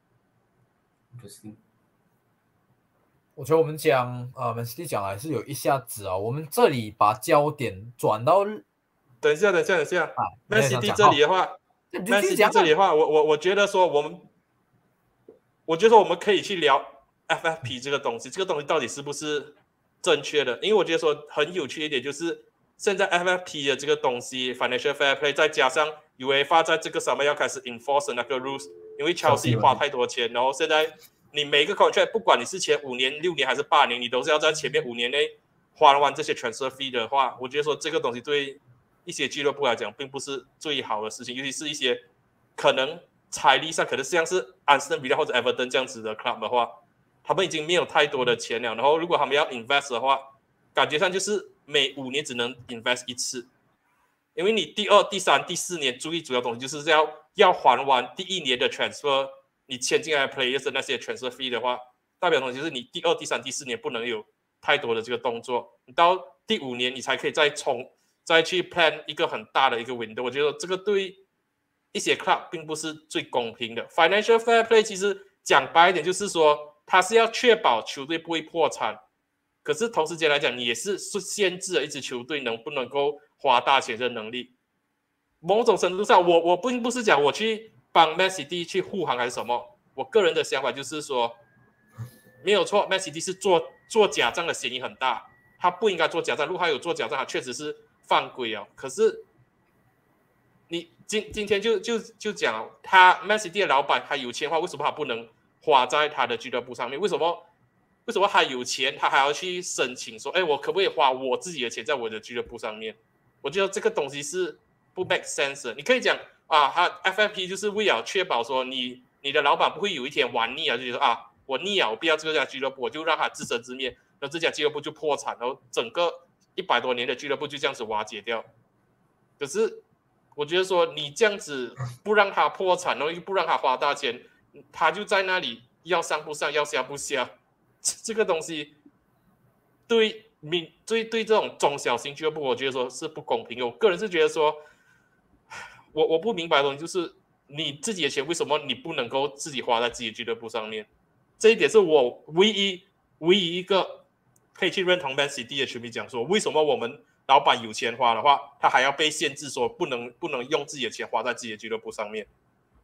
我觉得我们讲呃 Man City 讲来是有一下子啊，我们这里把焦点转到， 等一下等一下等一下、啊、Man City 这里的话 Man City 这里的话我我我觉得说我们我觉得说我们可以去聊 F F P 这个东西，这个东西到底是不是正确的，因为我觉得说很有趣一点就是现在 F F P 的这个东西 Financial Fair Play 再加上 UEFA 在这个上面要开始 enforce 那个 rules， 因为 Chelsea 花太多钱，然后现在你每个 contract 不管你是前五年六年还是八年，你都是要在前面五年内花完这些 transfer fee 的话，我觉得说这个东西对一些俱乐部来讲并不是最好的事情，尤其是一些可能财力上可能像是 Aston Villa 或者 Everton 这样子的 club 的话，他们已经没有太多的钱了，然后如果他们要 invest 的话，感觉上就是每五年只能 invest 一次，因为你第二、第三、第四年注意主要东西就是要要还完第一年的 transfer， 你签进来 players 的那些 transfer fee 的话，代表的东西就是你第二、第三、第四年不能有太多的这个动作，你到第五年你才可以再冲再去 plan 一个很大的一个 window， 我觉得这个对一些 club 并不是最公平的。Financial Fair Play 其实讲白一点就是说。他是要确保球队不会破产，可是同时间来讲，你也是限制了一支球队能不能够花大钱的能力。某种程度上，我我并不是讲我去帮 Man City 去护航还是什么，我个人的想法就是说，没有错 ，Man City 是做做假账的嫌疑很大，他不应该做假账。如果他有做假账，他确实是犯规啊。可是你今今天就就就讲，他 Man City 的老板他有钱的话，为什么他不能？花在他的俱乐部上面，为什么？为什么他有钱，他还要去申请说，哎，我可不可以花我自己的钱在我的俱乐部上面？我觉得这个东西是不 make sense 的。你可以讲啊，他 F F P 就是为了确保说你你的老板不会有一天玩腻啊，就觉得啊，我腻啊，我不要这家俱乐部，我就让他自生自灭，然后这家俱乐部就破产，然后整个一百多年的俱乐部就这样子瓦解掉。可是我觉得说你这样子不让他破产，然后又不让他花大钱。他就在那里要上不上，要下不下，这个东西对民对对这种中小型俱乐部，我觉得说是不公平的。我个人是觉得说，我我不明白的东西就是你自己的钱为什么你不能够自己花在自己的俱乐部上面？这一点是我唯一唯一一个可以去认同 Man City 的球迷讲说，为什么我们老板有钱花的话，他还要被限制说不能不能用自己的钱花在自己的俱乐部上面？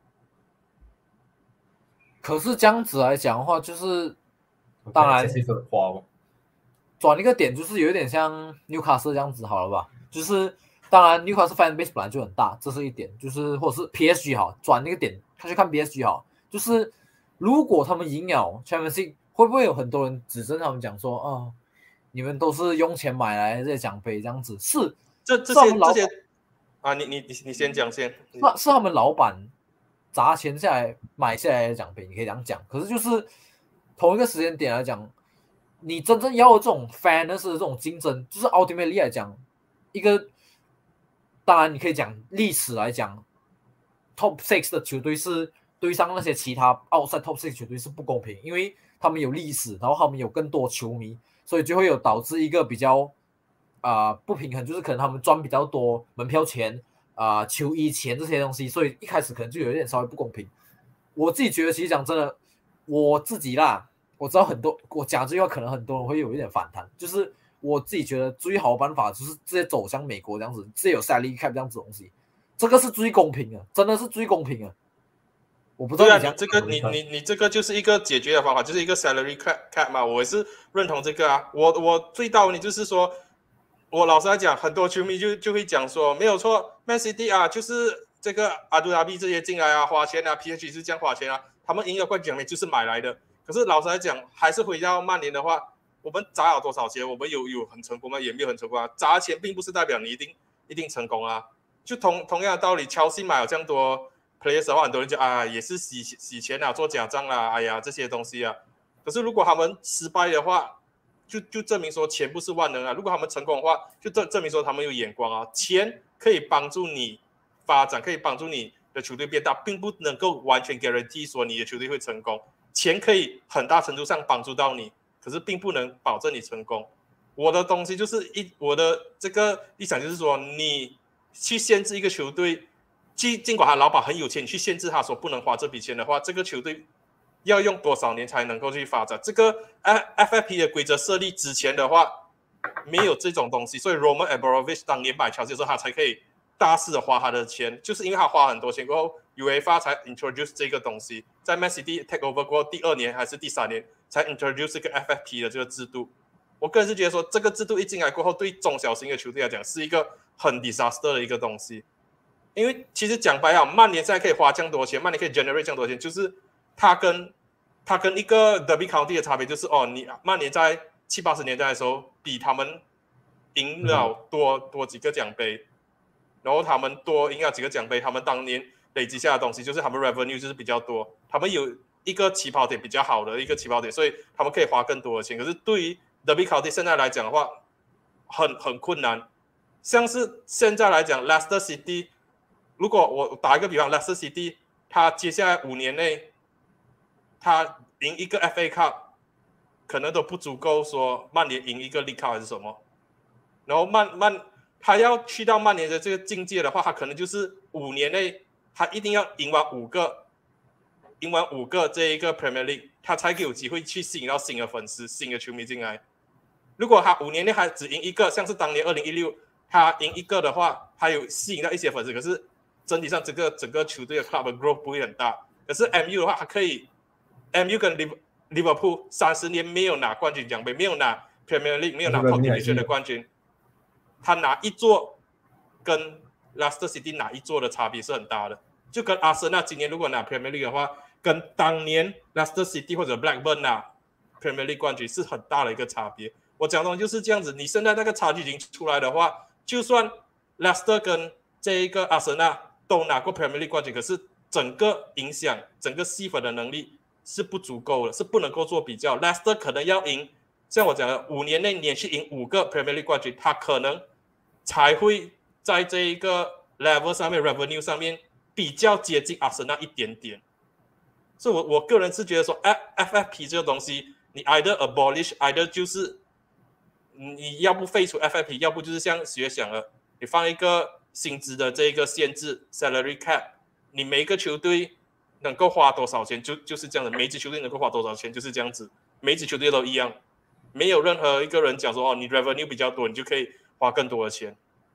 可是这样子来讲的话，就是当然转一个点，就是有点像纽卡斯这样子好了吧？就是当然纽卡斯 fan base 本来就很大，这是一点，就是或者是 P S G 好，转那个点，他去看 P S G 好，就是如果他们赢了 Champions League， 会不会有很多人指责他们讲说，哦，你们都是用钱买来这些奖杯这样子？是这这些这些啊，你你你先讲先， 是是他们老板砸钱下来买下来的奖杯，你可以这样讲。可是就是同一个时间点来讲，你真正要的这种 fairness 的这种竞争，就是 ultimately 来讲，一个当然你可以讲历史来讲 ，top six 的球队是对上那些其他 outside top six 球队是不公平，因为他们有历史，然后他们有更多球迷，所以就会有导致一个比较啊、呃、不平衡，就是可能他们赚比较多门票钱啊、呃、球衣钱这些东西，所以一开始可能就有一点稍微不公平。我自己觉得，其实讲真的，我自己啦。我知道很多，我讲这句话可能很多人会有一点反弹，就是我自己觉得最好的办法就是直接走向美国这样子，直接有 salary cap 这样子的东西，这个是最公平的，真的是最公平的。我不知道你讲、 啊、你这个你你你这个就是一个解决的方法，就是一个 salary cap 嘛，我也是认同这个啊。我我最大问题就是说，我老实来讲，很多球迷就就会讲说，没有错 ，Man City 啊，就是这个阿杜拉比这些进来啊，花钱啊 ，P S G 是这样花钱啊，他们赢了冠军奖就是买来的。可是老实来讲，还是回到曼联的话，我们砸了多少钱？我们有有很成功吗？也没有很成功啊。砸钱并不是代表你一定一定成功啊。就同同样的道理，乔西买了这样多 players 的话，很多人就啊也是洗洗钱啊，做假账啊，哎呀这些东西啊。可是如果他们失败的话，就就证明说钱不是万能啊。如果他们成功的话，就证证明说他们有眼光啊。钱可以帮助你发展，可以帮助你的球队变大，并不能够完全 guarantee 说你的球队会成功。钱可以很大程度上帮助到你，可是并不能保证你成功。我的东西就是一我的这个立场就是说，你去限制一个球队，尽管他老板很有钱，你去限制他说不能花这笔钱的话，这个球队要用多少年才能够去发展？这个 F F P 的规则设立之前的话，没有这种东西，所以 Roman Abramovich 当年买乔西的时候，他才可以大肆的花他的钱，就是因为他花很多钱过后 ，UEFA 才 introduce 这个东西，在 Man City take over 过后第二年还是第三年才 introduce 这个 F F P 的这个制度。我个人是觉得说，这个制度一进来过后，对中小型的球队来讲是一个很 disaster 的一个东西。因为其实讲白了，曼联现在可以花这样多钱，曼联可以 generate 这样多钱，就是他跟他跟一个 Derby County 的差别就是，哦，你曼联在七八十年代的时候，比他们赢了多、嗯、多几个奖杯。然后他们多赢了几个奖杯，他们当年累积下的东西就是他们 revenue 就是比较多，他们有一个起跑点比较好的一个起跑点，所以他们可以花更多的钱。可是对于 Derby County 现在来讲的话，很很困难。像是现在来讲 ，Leicester City， 如果我打一个比方 ，Leicester City 他接下来五年内，他赢一个 F A Cup， 可能都不足够说曼联赢一个 League Cup 还是什么。然后曼曼。他要去到曼联的这个境界的话，他可能就是五年内，他一定要赢完五个，赢完五个这一个 Premier League， 他才有机会去吸引到新的粉丝、新的球迷进来。如果他五年内还只赢一个，像是当年二零一六他赢一个的话，他有吸引到一些粉丝，可是整体上这个整个球队的 club 的 growth 不会很大。可是 M U 的话，他可以 M U 跟 Liverpool 三十年没有拿冠军奖杯，没有拿 Premier League， 没有拿 Top Division 的冠军。他拿一座跟 Leicester City 拿一座的差别是很大的，就跟阿森纳今年如果拿 Premier League 的话，跟当年 Leicester City 或者 Blackburn 拿 Premier League 冠军是很大的一个差别。我讲的就是这样子，你现在那个差距已经出来的话，就算 Leicester 跟这一个阿森纳都拿过 Premier League 冠军，可是整个影响、整个吸粉的能力是不足够的，是不能够做比较。Leicester 可能要赢，像我讲的，五年内连续赢五个 Premier League 冠军，他可能才会在这一个 level 上面 revenue 上面比较接近阿森纳一点点。所以我我个人是觉得说 F F P 这个东西，你 either abolish either 就是你要不废除 F F P， 要不就是像学想了，你放一个薪资的这个限制 salary cap， 你每一个球队能够花多少钱就就是这样的，每一支球队能够花多少钱就是这样子，每一支球队都一样，没有任何一个人讲说哦你 revenue 比较多你就可以花更多的钱。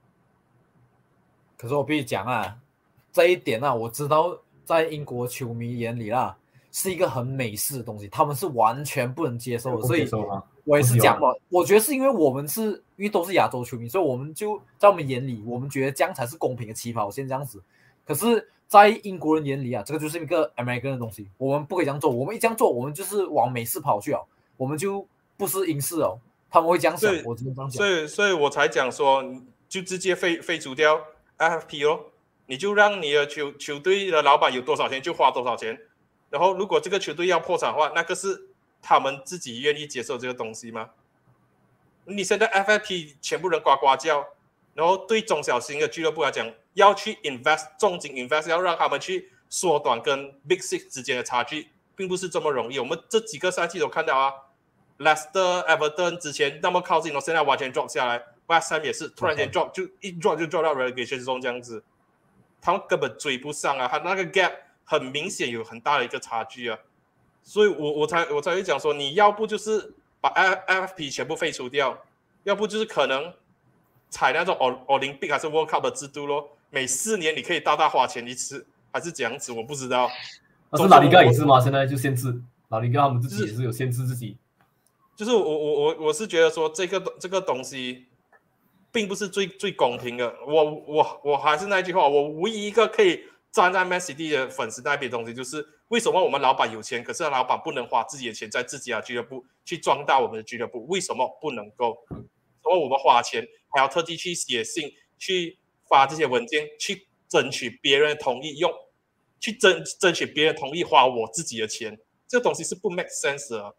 可是我必须讲啊，这一点啊，我知道在英国球迷眼里啦，是一个很美式的东西，他们是完全不能接受的。所以我也是讲嘛，我觉得是因为我们是因为都是亚洲球迷，所以我们就在我们眼里，我们觉得这样才是公平的起跑线这样子。可是，在英国人眼里啊，这个就是一个 American 的东西，我们不可以这样做。我们一这样做，我们就是往美式跑去了，我们就不是英式哦。他们会这样想，我真的这样讲。 所以，所以我才讲说，就直接废废除掉 F F P 哦，你就让你的球球队的老板有多少钱就花多少钱。然后，如果这个球队要破产的话，那个是他们自己愿意接受这个东西吗？你现在 F F P 全部人呱呱叫，然后对中小型的俱乐部来讲，要去 invest 重金 invest， 要让他们去缩短跟 Big Six 之间的差距，并不是这么容易。我们这几个赛季都看到啊 ，Leicester、Everton 之前那么靠近，现在完全 drop 下来 ，West Ham 也是突然间 drop， 就一 drop 就 drop 到 relegation zone 这样子，他们根本追不上啊，他那个 gap 很明显有很大的一个差距啊，所以我我才我才会讲说，你要不就是把 F F P 全部废除掉，要不就是可能采那种 Olympic 还是 World Cup 的制度咯，每四年你可以大大花钱一次，还是这样子，我不知道。 但是拉里嘎也是吗？现在就限制拉里嘎他们自己也是有限制自己。 就是我我我我是觉得说这个这个东西并不是最最公平的。我我我还是那句话，我唯一一个可以站在 Man City 的粉丝那边的东西，就是为什么我们老板有钱，可是老板不能花自己的钱在自己的俱乐部去壮大我们的俱乐部？为什么不能够？所以我们花钱还要特地去写信、去发这些文件，去争取别人的同意用，去争争取别人同意花我自己的钱，这个东西是不 make sense 的。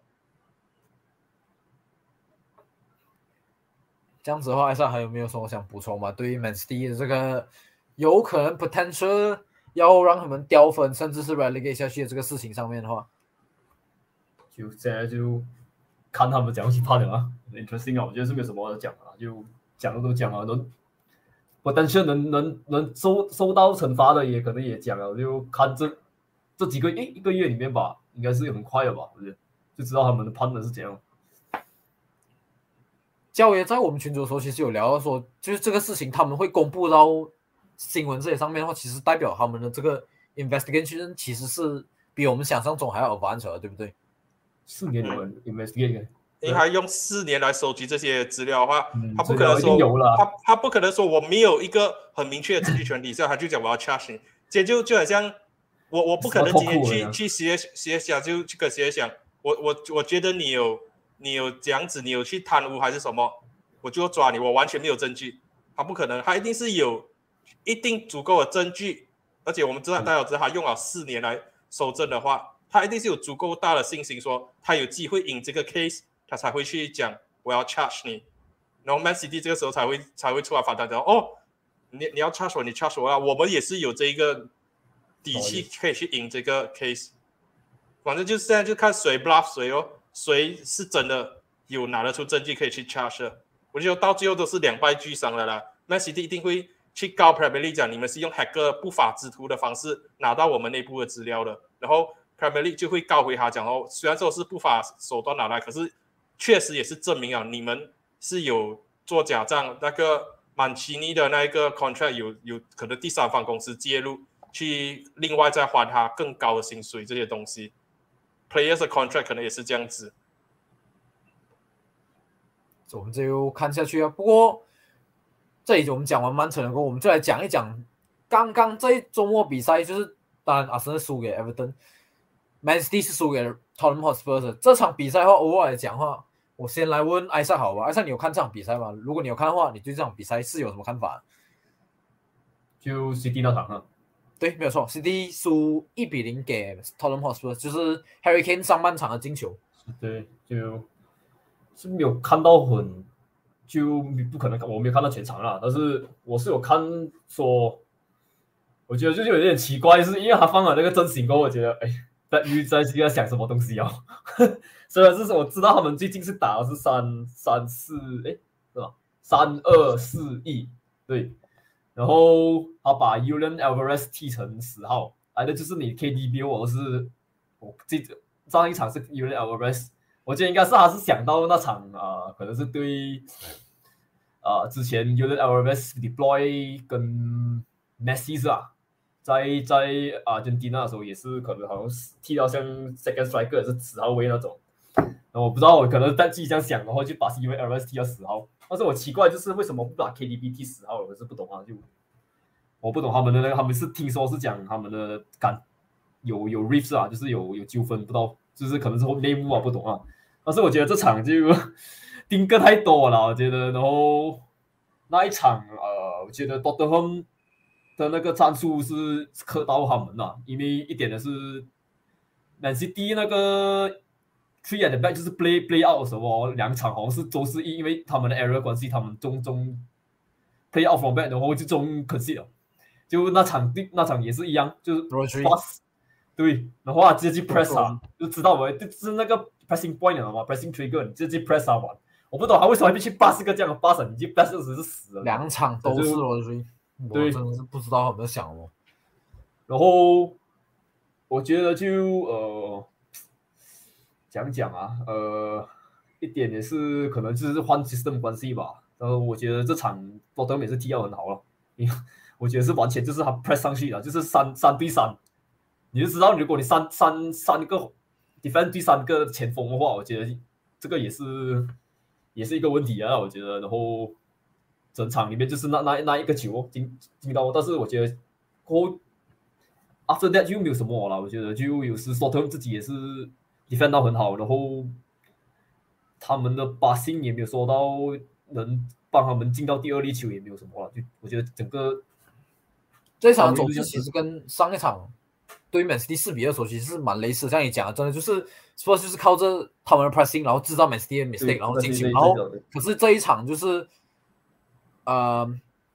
这样子的话，艾莎还有没有什么想补充吗？对于 Man City 的这个有可能 potential 要让他们掉分，甚至是 relegate 下去的这个事情上面的话， 就现在就看他们怎样去判的啊 ，interesting 啊，我觉得是没有什么讲啊，就讲的都讲了，能 potential 能能能收收到惩罚的也可能也讲了，就看这这几个诶一个月里面吧，应该是很快的吧，我觉得就知道他们的判的是怎样。 教爷在我们群组的时候，其实有聊到说，就是这个事情他们会公布到新闻这些上面的话，其实代表他们的这个 investigation 其实是比我们想象中还要 advanced 的，对不对？ 四年有 investigate， 因为他用四年来收集这些资料的话， 嗯、 他不可能说有了， 他他不可能说我没有一个很明确的证据权利，所以他就讲我要 charge 你，这就就好像我我不可能今天去去写写想就去跟写想，我我我觉得你有。你有这样子，你有去贪污还是什么，我就抓你，我完全没有证据，他不可能，他一定是有一定足够的证据，而且我们知道大家知道他用了四年来收证的话，他一定是有足够大的信心说他有机会赢这个 case， 他才会去讲我要 charge 你，然后 Man City 这个时候才会才会出来反弹讲哦，你你要 charge 我，你 charge 我啊，我们也是有这一个底气可以去赢这个 case， 反正就现在就看谁 bluff 谁哦。谁是真的有拿得出证据可以去 charge 的？我觉得到最后都是两败俱伤了啦。Man City 一定会去告 Premier League 讲你们是用 hacker 不法之徒的方式拿到我们内部的资料的，然后 Premier League 就会告回他讲哦，虽然说是不法手段拿来，可是确实也是证明啊你们是有做假账，那个曼奇尼的那一个 contract 有有可能第三方公司介入，去另外再还他更高的薪水这些东西。Players 的 contract 可能也是这样子， 我们就看下去啊。不过这里我们讲完曼城的过后，我们就来讲一讲刚刚在周末比赛，就是当然阿森纳输给 Everton，Man City 是输给 Tottenham Hotspur。这场比赛的话，偶尔来讲的话，我先来问艾萨好吧？艾萨，你有看这场比赛吗？如果你有看的话，你对这场比赛是有什么看法？ 就 City 那场啊。 对，没有错 ，City 输一比零给 Tottenham Hotspur， 就是 Harry Kane 上半场的进球。 对，就是没有看到很，就不可能，我没有看到全场啦，但是我是有看说，我觉得就是有点奇怪，就是因为他放了那个阵型过后，我觉得哎，在预在在想什么东西哦。虽然是我知道他们最近是打的是三三四，哎，是吧？三二四一，对。然后他把 Julian Alvarez 踢成十号，来的就是你 K D B， 我是我记得上一场是 Julian Alvarez， 我觉得应该是他是想到那场啊、呃，可能是对啊、呃、之前 Julian Alvarez deploy 跟 Messi 是吧，在在阿根廷的时候也是可能好像是踢到像 second striker 是十号位那种，然后我不知道我可能在自己这样想，然后就把 Julian Alvarez 踢到十号。但是我奇怪就是为什么不把 K D B 踢十号，我是不懂啊，就我不懂他们的那个，他们是听说是讲他们的感有有 rift 啊，就是有有纠纷，不知道就是可能是内幕啊，不懂啊。但是我觉得这场就盯个太多了，我觉得，然后那一场呃，我觉得 Tottenham 的那个战术是克到他们了，因为一点的是 Man City 那个 three at the back 就是 play play out 的时候，两场好像是都是因为他们的 error 关系，他们中中 play out from back 然后就中 concede 了。就那场那场也是一样，就是 pass 对，然后他直接去 press 他，就知道没，就是那个 pressing point 了嘛 ，pressing trigger， 你直接 press 他玩。我不懂他为什么会去 pass 个这样的 pass， 你去 pass 是死了。 两场都是 Rodri， 我真的是不知道他们在想什么。 然后我觉得就呃讲讲啊，呃一点也是可能就是换 system 关系吧。然后我觉得这场多特也是踢得很好了，因为我觉得是完全就是他 press 上去了，就是三三对三，你就知道如果你三三三个 defend 对三个前锋的话，我觉得这个也是也是一个问题啊，我觉得。然后整场里面就是那那那一个球进进到，但是我觉得过后 after that 就没有什么了，我觉得就有时 Tottenham 自己也是 defend 到很好，然后他们的passing也没有说到能帮他们进到第二粒球，也没有什么了，就我觉得整个。 这一场的走势其实跟上一场对于 Man City 四比二的时候其实是蛮类似，像你讲的，真的就是 Spurs 就是靠着他们的 pressing， 然后制造 Man City 的 mistake， 然后进球，然后可是这一场就是呃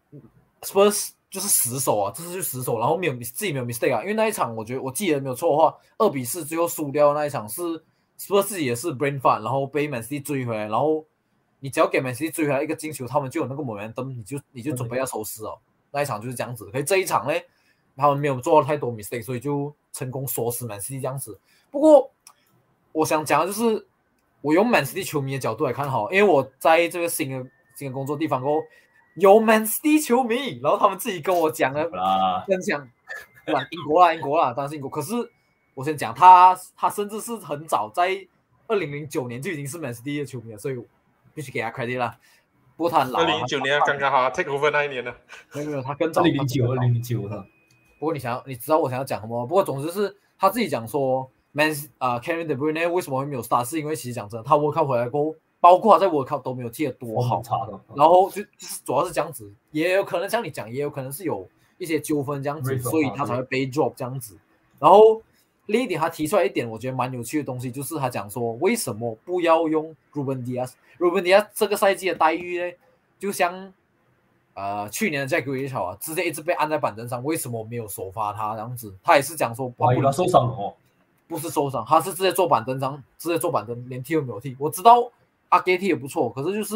Spurs 就是死守啊，这次就死守，然后没有自己没有 mistake 啊，因为那一场我觉得我记得没有错的话，二比四最后输掉那一场是 Spurs 自己也是 brain fart， 然后被 Man City 追回来，然后你只要给 Man City 追回来一个进球，他们就有那个 momentum， 你就你就准备要收拾哦。那一场就是这样子，可是这一场呢，他们没有做到太多 mistake， 所以就成功锁死 Man City 这样子。不过我想讲的就是，我用 Man City 球迷的角度来看好，因为我在这个新的新的工作地方过后有 Man City 球迷，然后他们自己跟我讲了分享，不然英国啦英国啦，当然是英国。可是我先讲他，他甚至是很早在二零零九年就已经是 Man City 的球迷了，所以必须给他 credit 啦。不过他很老、啊， 二零零九年刚刚好 take over 那一年呢。 没有没有，他更早。 二零零九，二零零九哈。 不过你想要，你知道我想要讲什么？不过总之是他自己讲说 ，Man 啊、呃、，Kevin De Bruyne 为什么会没有 start， 是因为其实讲真的，他 World Cup 回来过后，包括他在 World Cup 都没有踢得多好，然后就就是主要是这样子，也有可能像你讲，也有可能是有一些纠纷这样子，所以他才会被 drop 这样子。然后另一点，他提出来一点我觉得蛮有趣的东西，就是他讲说，为什么不要用 Ruben Dias？Ruben Dias 这个赛季的待遇呢？就像呃去年的 Jack Grealish 啊，直接一直被按在板凳上，为什么没有首发他这样子？他也是讲说， 啊，他受伤了哦， 不是受伤，他是直接坐板凳上，直接坐板凳，连踢都没有踢。我知道阿给踢也不错，可是就是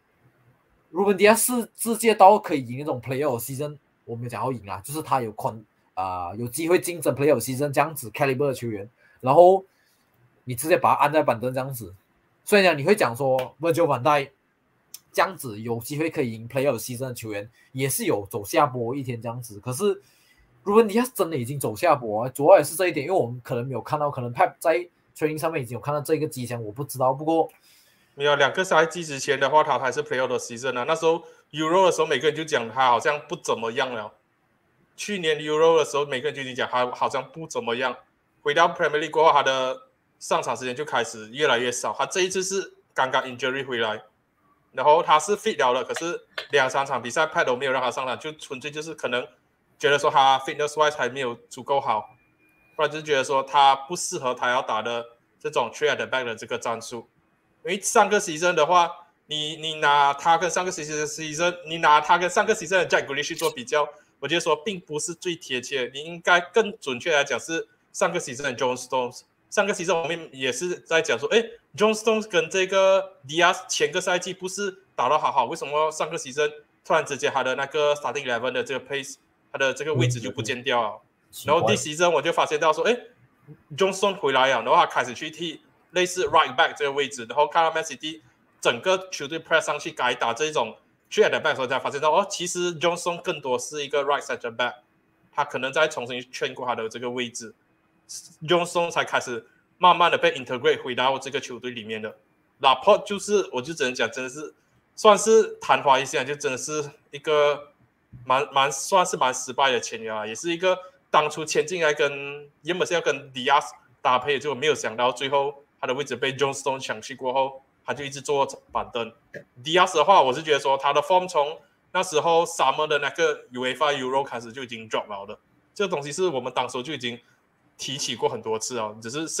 Ruben Dias 是世界到可以赢那种 Playoff Season， 我没有讲要赢啊，就是他有kon 啊、呃、有机会竞争 Playoff Season 这样子 caliber 的球员，然后你直接把他按在板凳这样子，所以呢你会讲说 Virgil van Dijk。这样子有机会可以赢 Player Season 的球员，也是有走下坡一天这样子。可是 Ruben Dias 真的已经走下坡、啊，主要也是这一点，因为我们可能没有看到，可能 Pep 在 training 上面已经有看到这个迹象，我不知道。不过没有两个赛季之前的话，他还是 Player Season 啊。那时候 Euro 的时候，每个人就讲他好像不怎么样了。去年 Euro 的时候，每个人就已经讲他好像不怎么样。回到 Premier League 过后，他的上场时间就开始越来越少。他这一次是刚刚 injury 回来。然后他是 fit 了的，可是两三场比赛 Pep 都没有让他上场，就纯粹就是可能觉得说他 fitness wise 还没有足够好，不然就是觉得说他不适合他要打的这种 three at the back 的这个战术。因为上个 season 的话，你你拿他跟上个 season， 你拿他跟上个 season 的 Jack Grealish 去做比较，我觉得说并不是最贴切，你应该更准确来讲是上个 season 的 John Stones。上个 season 我们也是在讲说，哎 ，John Stones 跟这个 Dias 前个赛季不是打得好好，为什么上个 season 突然之间他的那个 starting eleven 的这个 pace， 他的这个位置就不见掉了？然后第 season 我就发现到说，哎 ，John Stones 回来了，然后他开始去踢类似 right back 这个位置，然后看到 Man City 整个球队 press 上去改打这种 three at the back 的时候，才发现到哦，其实 John Stones 更多是一个 right center back， 他可能再重新圈过他的这个位置。John Stones 才开始慢慢的被 integrate 回到这个球队里面的。Laporte 就是我就只能讲真的是算是昙花一现，就真的是一个蛮蛮算是蛮失败的签约啊，也是一个当初签进来跟原本是要跟 Dias 搭配，结果没有想到最后他的位置被 John Stones 抢去过后，他就一直坐板凳。Dias 的话，我是觉得说他的 form 从那时候 Summer 的那个 UEFA Euro 开始就已经 drop 了的，这个东西是我们当时就已经提起过很多次哦，只是剩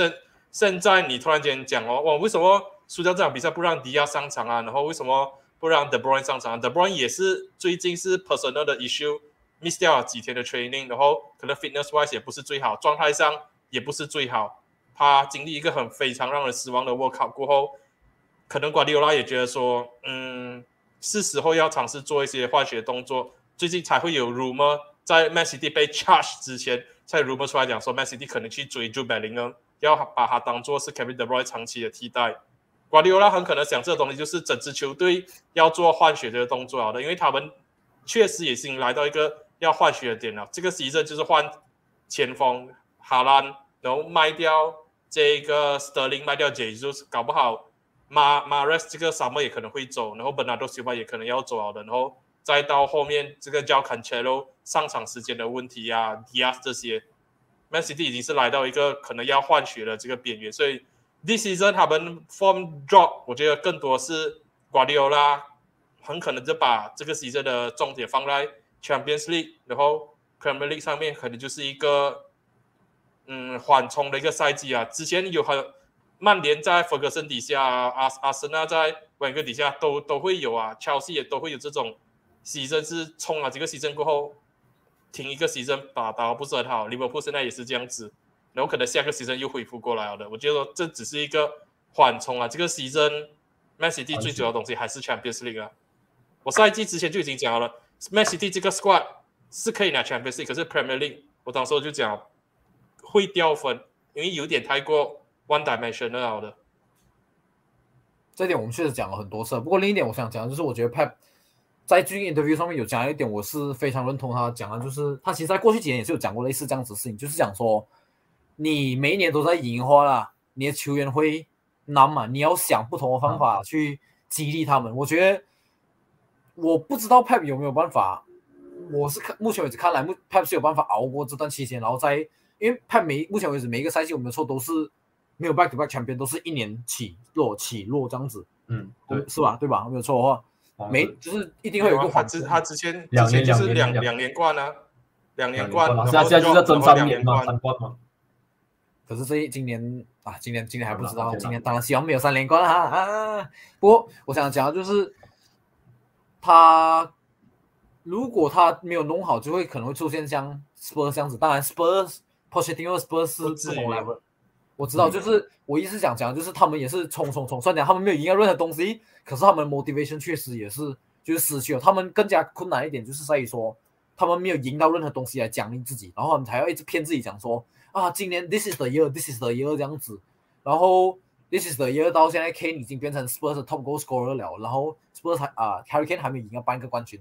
现在你突然间讲哦，哇，为什么输掉这场比赛不让迪亚上场啊？然后为什么不让 De Bruyne 上场、啊、？De Bruyne 也是最近是 personal 的 issue，miss 掉了几天的 training， 然后可能 fitness wise 也不是最好，状态上也不是最好。他经历一个很非常让人失望的 World Cup 过后，可能瓜迪奥拉也觉得说，嗯，是时候要尝试做一些换血动作。最近才会有 rumor， 在 Man City 被 charge 之前，才 rumor 出来讲说 Man City 可能去追 Jude Bellingham， 要把他当做是 Kevin De Bruyne 长期的替代。瓜迪奥拉很可能想这个东西就是整支球队要做换血这个动作好的，因为他们确实也已经来到一个要换血的点了。这个season就是换前锋哈兰，然后卖掉这个 Sterling， 卖掉 Jesus， 搞不好马马雷斯这个沙漠也可能会走，然后 Bernardo Silva 也可能要走好的，然后再到后面这个叫 Cancelo 上场时间的问题啊 Diaz 这些 Man City 已经是来到一个可能要换血的这个边缘，所以 this season 他们 form drop 我觉得更多是瓜迪奥拉很可能就把这个 season 的重点放在 Champions League， 然后 Premier League 上面可能就是一个嗯缓冲的一个赛季啊。之前有很曼联在 Ferguson 底下，阿阿森纳在温格底下都都会有啊 ，Chelsea 也都会有这种season是冲了几个 season 过后停一个 season 打打不是很好，利物浦现在也是这样子，然后可能下个 season 又恢复过来了的。我觉得这只是一个缓冲啊，这个 season Man City 最主要的东西还是 Champions League 啊。我赛季之前就已经讲好了 ，Man City 这个 squad 是可以拿 Champions League， 可是 Premier League 我当时就讲会掉分，因为有点太过 one dimensional 的。 这点我们确实讲了很多次，不过另一点我想讲的就是，我觉得 Pep 在最近 interview 上面有讲一点，我是非常认同他讲的，就是他其实在过去几年也是有讲过类似这样子的事情，就是讲说你每一年都在赢的话啦，你的球员会难嘛，你要想不同的方法去激励他们。我觉得我不知道 Pep 有没有办法，我是看目前为止看来 Pep 是有办法熬过这段期间，然后在因为 Pep 每目前为止每一个赛季我们的错都是没有 back to back champion， 都是一年起落起落这样子， 嗯，对， 是吧？对吧？没有错的话，没就是一定会有一个他之他之前之前就是两两连冠啊，两连冠， 现在现在就在争三年嘛，三冠嘛。 可是这今年啊，今年今年还不知道，今年当然希望没有三连冠啊啊！不过我想讲的就是，他如果他没有弄好，就会可能会出现像 Spurs 这样子。当然 Spurs、Pochettino Spurs 是不同 level， 我知道，就是我意思想讲，就是他们也是冲冲冲，虽然他们没有赢到任何东西，可是他们的 motivation 确实也是就是失去了。他们更加困难一点，就是在于说他们没有赢到任何东西来奖励自己，然后他们还要一直骗自己讲说。啊，今年 this is the year, this is the year 这样子，然后 this is the year 到现在 Kane 已经变成 Spurs 的 top goal scorer 了，然后 Spurs 还啊 Harry Kane 还没赢到半个冠军，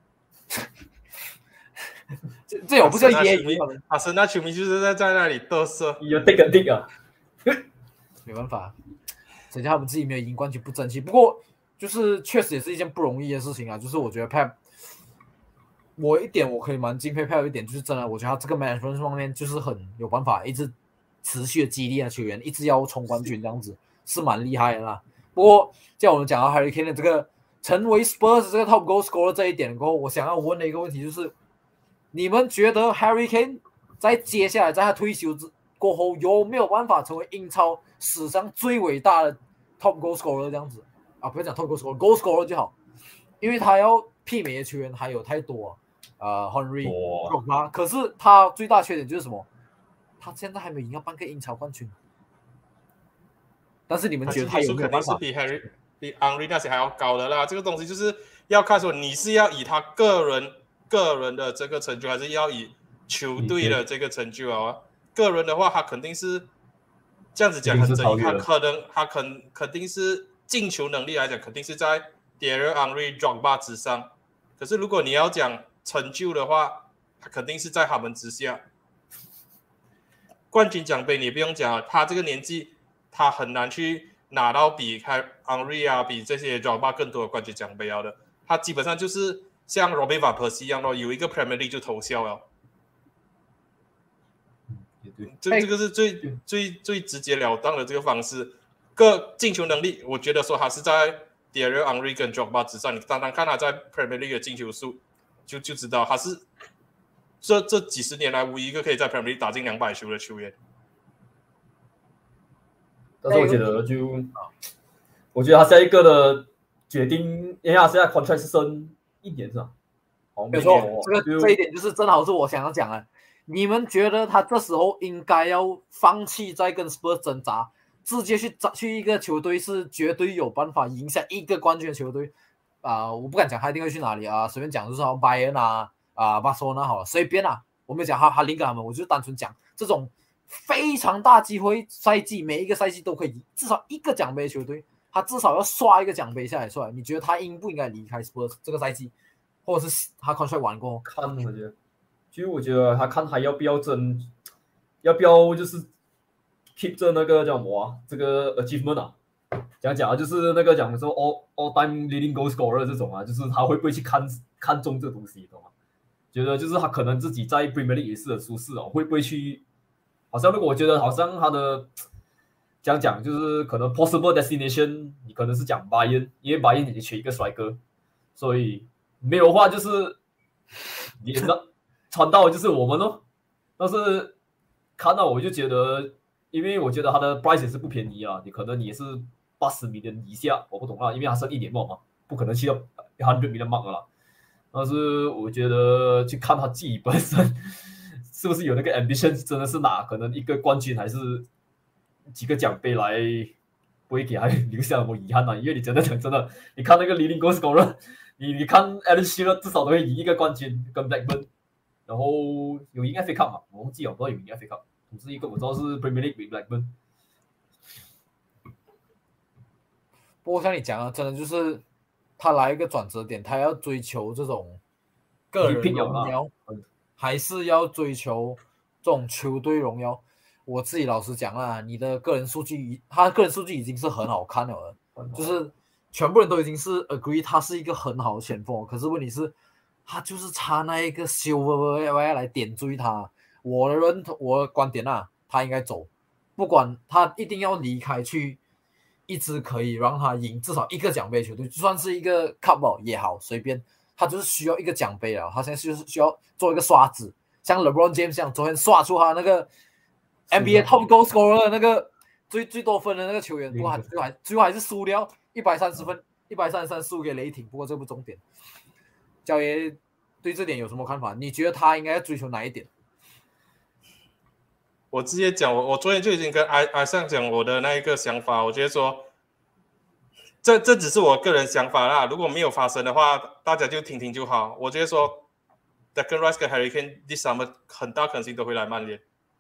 这这有不叫揶揄， 阿森纳球迷就是在在那里嘚瑟， 有 dig 啊 dig 啊， 没办法，谁叫他们自己没有赢冠军不争气。不过就是确实也是一件不容易的事情啊，就是我觉得 Pep。我一点我可以蛮敬佩 Pep 一点，就是真的，我觉得他这个 management 方面就是很有办法，一直持续的激励啊球员，一直要冲冠军这样子，是蛮厉害的啦。不过，像我们讲到 Harry Kane 的这个成为 Spurs 这个 top goal scorer 这一点过后，我想要问的一个问题就是，你们觉得 Harry Kane 在接下来在他退休之过后有没有办法成为英超史上最伟大的 top goal scorer 这样子啊？不要讲 top goal scorer，goal scorer 就好，因为他要媲美的球员还有太多、啊。呃 ，Henry， 可是他最大缺点就是什么？他现在还没赢到半个英超冠军。但是你们觉得他有没有办法？ 肯定是比 Harry、比 Henry 那些还要高的啦。这个东西就是要看说你是要以他个人个人的这个成就，还是要以球队的这个成就啊？个人的话，他肯定是这样子讲很正义，他可能他肯肯定是进球能力来讲，肯定是在 Thierry、Henry、Drogba 之上。可是如果你要讲成就的话，他肯定是在他们之下。冠军奖杯你不用讲了，他这个年纪，他很难去拿到比 Henry 啊、比这些 Drogba 更多的冠军奖杯的。他基本上就是像 Robin van Persie 一样咯，有一个 Premier League 就偷笑了。这这个是最最最直截了当的这个方式。个进球能力，我觉得说他是在 Thierry、Henry 跟 Drogba 之上。你单单看他在 Premier League 的进球数。就就知道他是这这几十年来唯一一个可以在 Premier League 打进两百球的球员。 但是我觉得就，我觉得他下一个的决定，因为他现在 contract 是剩一年是吧？ 没错，这个这一点就是正好是我想要讲的。你们觉得他这时候应该要放弃再跟 Spurs 挣扎，直接去去一个球队是绝对有办法赢下一个冠军的球队啊、呃？我不敢讲他一定会去哪里啊，随便讲就是说拜仁啊啊巴塞罗那好了，随便啊，我没有讲他他林格他们，我就单纯讲这种非常大机会赛季每一个赛季都可以至少一个奖杯的球队，他至少要刷一个奖杯下来出来。你觉得他应不应该离开 Spurs 这个赛季，或者是他 contract 完过后？ 看我觉得。其实我觉得他看他要不要争，要不要就是 keep 着那个叫什么、啊、这个 achievement 啊，讲讲啊，就是那个讲说 all all time leading goal scorer 这种啊，就是他会不会去看看中这个东西，懂吗？觉得就是他可能自己在 Premier League 也是很舒适哦，会不会去？好像如果我觉得好像他的讲讲就是可能 possible destination， 你可能是讲 Bayern， 因为 Bayern 也缺一个帅哥，所以没有的话就是你那。传到就是我们咯，但是看到我就觉得，因为我觉得他的 price 也是不便宜啊，你可能你也是八十 million 以下，我不懂啦，因为他剩一年嘛嘛，不可能去到一百 million mark 了啦。但是我觉得去看他自己本身是不是有那个 ambition， 真的是拿可能一个冠军还是几个奖杯来，不会给他留下什么遗憾啊？因为你真的讲真的，你看那个 leading goal scorer， 你你看 Alan Shearer 至少都会赢一个冠军，跟 Blackburn。然后有赢 F A Cup 嘛？我忘记了，不知道有赢 F A Cup。总之一个我知道是 Premier League 比 Blackburn。 不过像你讲的，真的就是他来一个转折点，他要追求这种个人荣耀，还是要追求这种球队荣耀？我自己老实讲啊，你的个人数据，他的个人数据已经是很好看了，就是全部人都已经是 agree 他是一个很好的前锋，可是问题是。他就是差那一个 silver 来点缀他，我的认同，我的观点啊，他应该走，不管他一定要离开去一支可以让他赢至少一个奖杯的球队，就算是一个 cup 也好，随便，他就是需要一个奖杯了，他现在就是需要做一个刷子，像 LeBron James 这样，昨天刷出他那个 N B A top goal scorer 那个最最多分的那个球员，不过最后还最后还是输掉一百三十分，一百三十三输给雷霆，不过这不重点。焦爷对这点有什么看法？你觉得他应该要追求哪一点？ 我直接讲，我我昨天就已经跟艾艾尚讲我的那一个想法，我觉得说，这这只是我个人想法啦，如果没有发生的话，大家就听听就好。我觉得说 ，Declan Rice 跟 Harry Kane this summer 很大可能性都会来曼联。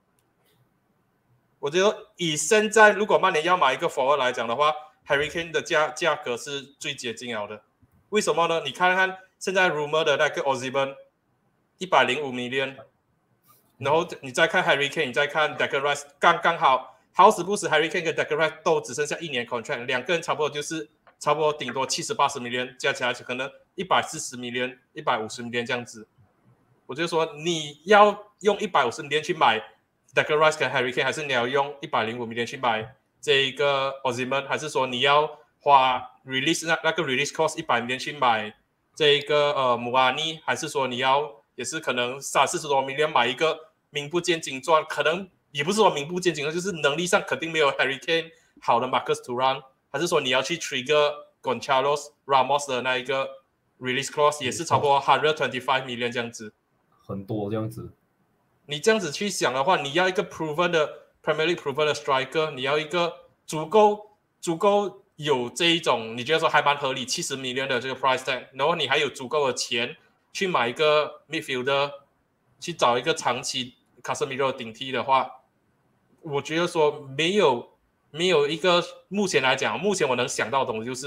我觉得以现在如果曼联要买一个 forward 来讲的话 ，Harry Kane 的价价格是最接近了的。为什么呢？你看看。现在 rumor 的那个 Osimhen 一百零五 million， 然后你再看 Harry Kane， 你再看 Declan Rice， 刚刚好，好死不死 Harry Kane 跟 Declan Rice 都只剩下一年 contract， 两个人差不多就是差不多顶多七十八十 million， 加起来可能一百四十 million、一百五十 million 这样子。我就说你要用一百五十 million 去买 Declan Rice 跟 Harry Kane， 还是你要用一百零五 million 去买这一个 Osimhen， 还是说你要花 release 那那个 release cost 一百 million 去买？这一个呃姆阿尼，还是说你要也是可能三四十多 million 买一个名不见经传，可能也不是说名不见经传，就是能力上肯定没有 Harry Kane 好的 Marcus Thuram， 还是说你要去 trigger Gonçalo Ramos 的那一个 release clause， 也是超过一百二十五 million 这样子， 很多这样子。 你这样子去想的话，你要一个 proven 的 Premier League proven 的 striker， 你要一个足够足够。有这一种你觉得说还蛮合理七十 million 的这个 price tag， 然后你还有足够的钱去买一个 midfielder， 去找一个长期 Casemiro 顶替的话，我觉得说没有没有一个目前来讲，目前我能想到的东西就是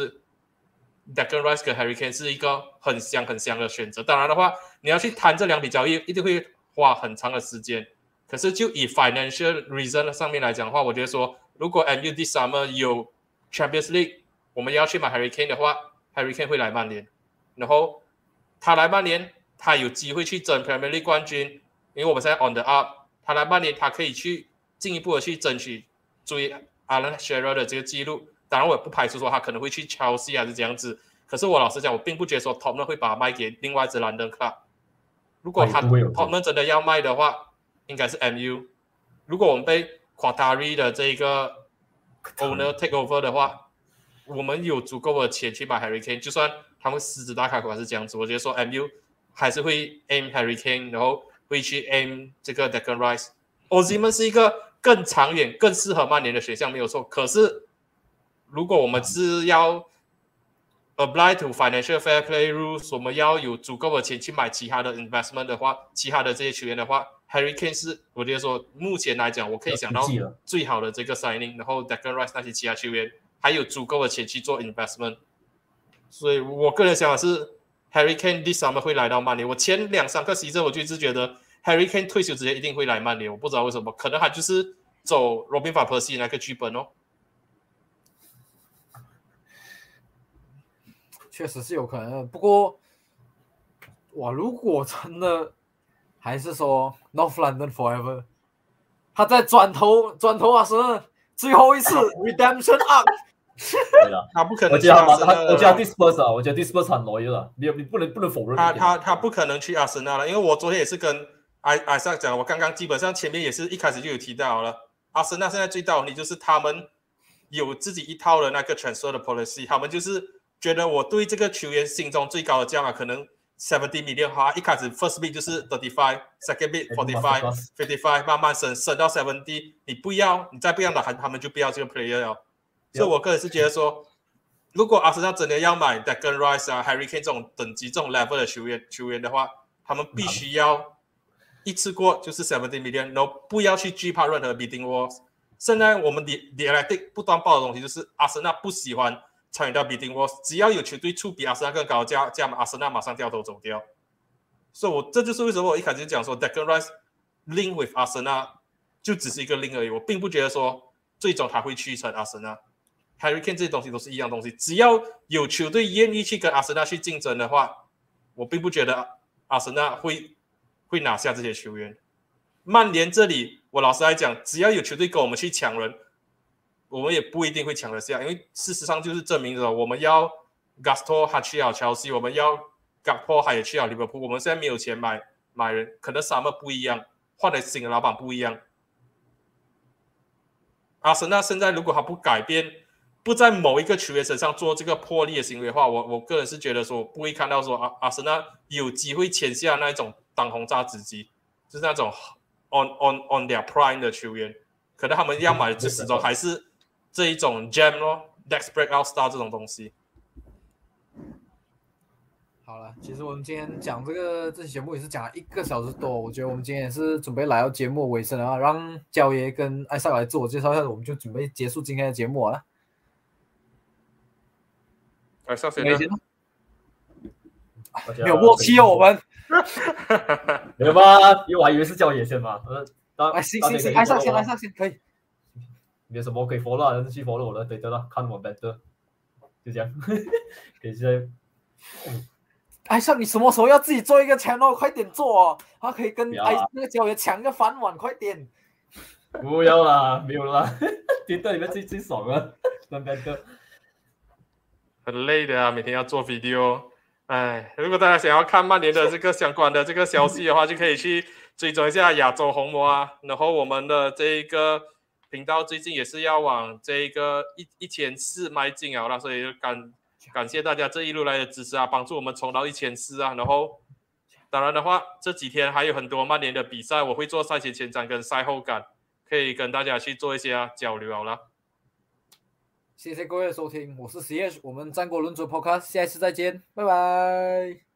Declan Rice 跟 Harry Kane 是一个很香很香的选择。当然的话，你要去谈这两笔交易，一定会花很长的时间。可是就以 financial reason 上面来讲的话，我觉得说如果 M U this summer 有Champions League， 我们要去买 Harry Kane 的话 ，Harry Kane 会来曼联，然后他来曼联，他有机会去争 Premier League 冠军，因为我们现在 on the up， 他来曼联，他可以去进一步的去争取追 Alan Shearer 的这个记录。当然，我也不排除说他可能会去 Chelsea 还是这样子。可是我老实讲，我并不觉得说 Tottenham 会把他卖给另外一支兰登 club。如果他 Tottenham 真的要卖的话，应该是 M U。如果我们被 Qatari 的这个 owner take over 的话，我们有足够的钱去买 Harry Kane， 就算他们狮子大开口还是这样子，我觉得说 M U 还是会 aim Harry Kane， 然后会去 aim 这个 Declan Rice。Osimhen 是一个更长远、更适合曼联的选项，没有错。可是如果我们是要 apply to financial fair play rules， 我们要有足够的钱去买其他的 investment 的话，其他的这些球员的话 ，Harry Kane 是我觉得说目前来讲，我可以想到最好的这个 signing， 然后 Declan Rice 那些其他球员还有足够的钱去做 investment， 所以我个人想法是 Harry Kane this summer 会来到曼联。我前两三个 season 我就一直觉得 Harry Kane 退休之前一定会来曼联，我不知道为什么，可能他就是走 Robin van Persie 那个剧本哦。 确实是有可能的，不过，哇，如果真的还是说 North London Forever， 他在转头转头啊是最后一次 Redemption Arc， 对了， 他不可能。 我觉得他，我觉得 Dispers 啊，我觉得 Dispers 很 loyal 了，你你不能不能否认。 他他他不可能去阿森纳了，因为我昨天也是跟艾艾萨讲，我刚刚基本上前面也是一开始就有提到了，阿森纳现在最大问题就是他们有自己一套的那个 transfer 的 policy， 他们就是觉得我对这个球员心中最高的价码可能seventy million， 哈，一开始 first bid 就是 thirty-five，second bid forty-five，fifty-five， 慢慢升升到 seventy， 你不要，你再不要的，他们就不要这个 player 了。所以我个人是觉得说，如果阿森纳真的要买 Declan Rice 啊 Harry Kane 这种等级这种 level 的球员球员的话，他们必须要一次过就是 seventy million， 然后不要去惧怕任何 bidding war。现在我们 The Athletic 不断报的东西就是阿森纳不喜欢参与到 bidding war， 只要有球队出比阿森纳更高的价价码，阿森纳马上掉头走掉。所以我这就是为什么我一开始讲说 Declan Rice link with 阿森纳就只是一个 link 而已，我并不觉得说最终他会去成阿森纳。Harry Kane 这些东西都是一样东西，只要有球队愿意去跟阿森纳去竞争的话，我并不觉得阿森纳会会拿下这些球员。曼联这里，我老实来讲，只要有球队跟我们去抢人，我们也不一定会抢得下，因为事实上就是证明了我们要 Gusto 他去了 Chelsea， 我们要 Gakpo 他也去了 Liverpool， 我们现在没有钱买买人，可能 Summer 不一样，换的新的老板不一样。阿森纳现在如果他不改变，不在某一个球员身上做这个破例的行为的话，我我个人是觉得说不会看到说阿阿森纳有机会签下那一种当红炸子鸡，就是那种 on on on their prime 的球员，可能他们要买的始终还是这一种 gem 咯 ，next breakout star 这种东西。 好了，其实我们今天讲这个这期节目也是讲了一个小时多，我觉得我们今天也是准备来到节目尾声了啊，让焦爷跟艾萨来自我介绍一下，我们就准备结束今天的节目了。 艾萨先呢？ 没有默契哦，我们没有吧？因为我还以为是焦爷先嘛。呃， 哎，行行行，艾萨先，艾萨先可以。 没有什么可以 follow 的，去 follow 我的对的了，看我 better， 就这样。可以现在。 艾萨，你什么时候要自己做一个 channel？ 快点做哦！他可以跟艾那个焦爷抢个饭碗，快点！ 不要啦，没有啦，听到里面最最爽了，那边的。 很累的啊，每天要做 video。哎，如果大家想要看曼联的这个相关的这个消息的话，就可以去追踪一下亚洲红魔啊。然后我们的这一个频道最近也是要往这一个一一千四迈进啊，所以感感谢大家这一路来的支持啊，帮助我们冲到一千四啊。然后当然的话，这几天还有很多曼联的比赛，我会做赛前前瞻跟赛后感，可以跟大家去做一些、啊、交流好了。 谢谢各位的收听，我是 C H， 我们战国论足 Podcast， 下一次再见，拜拜。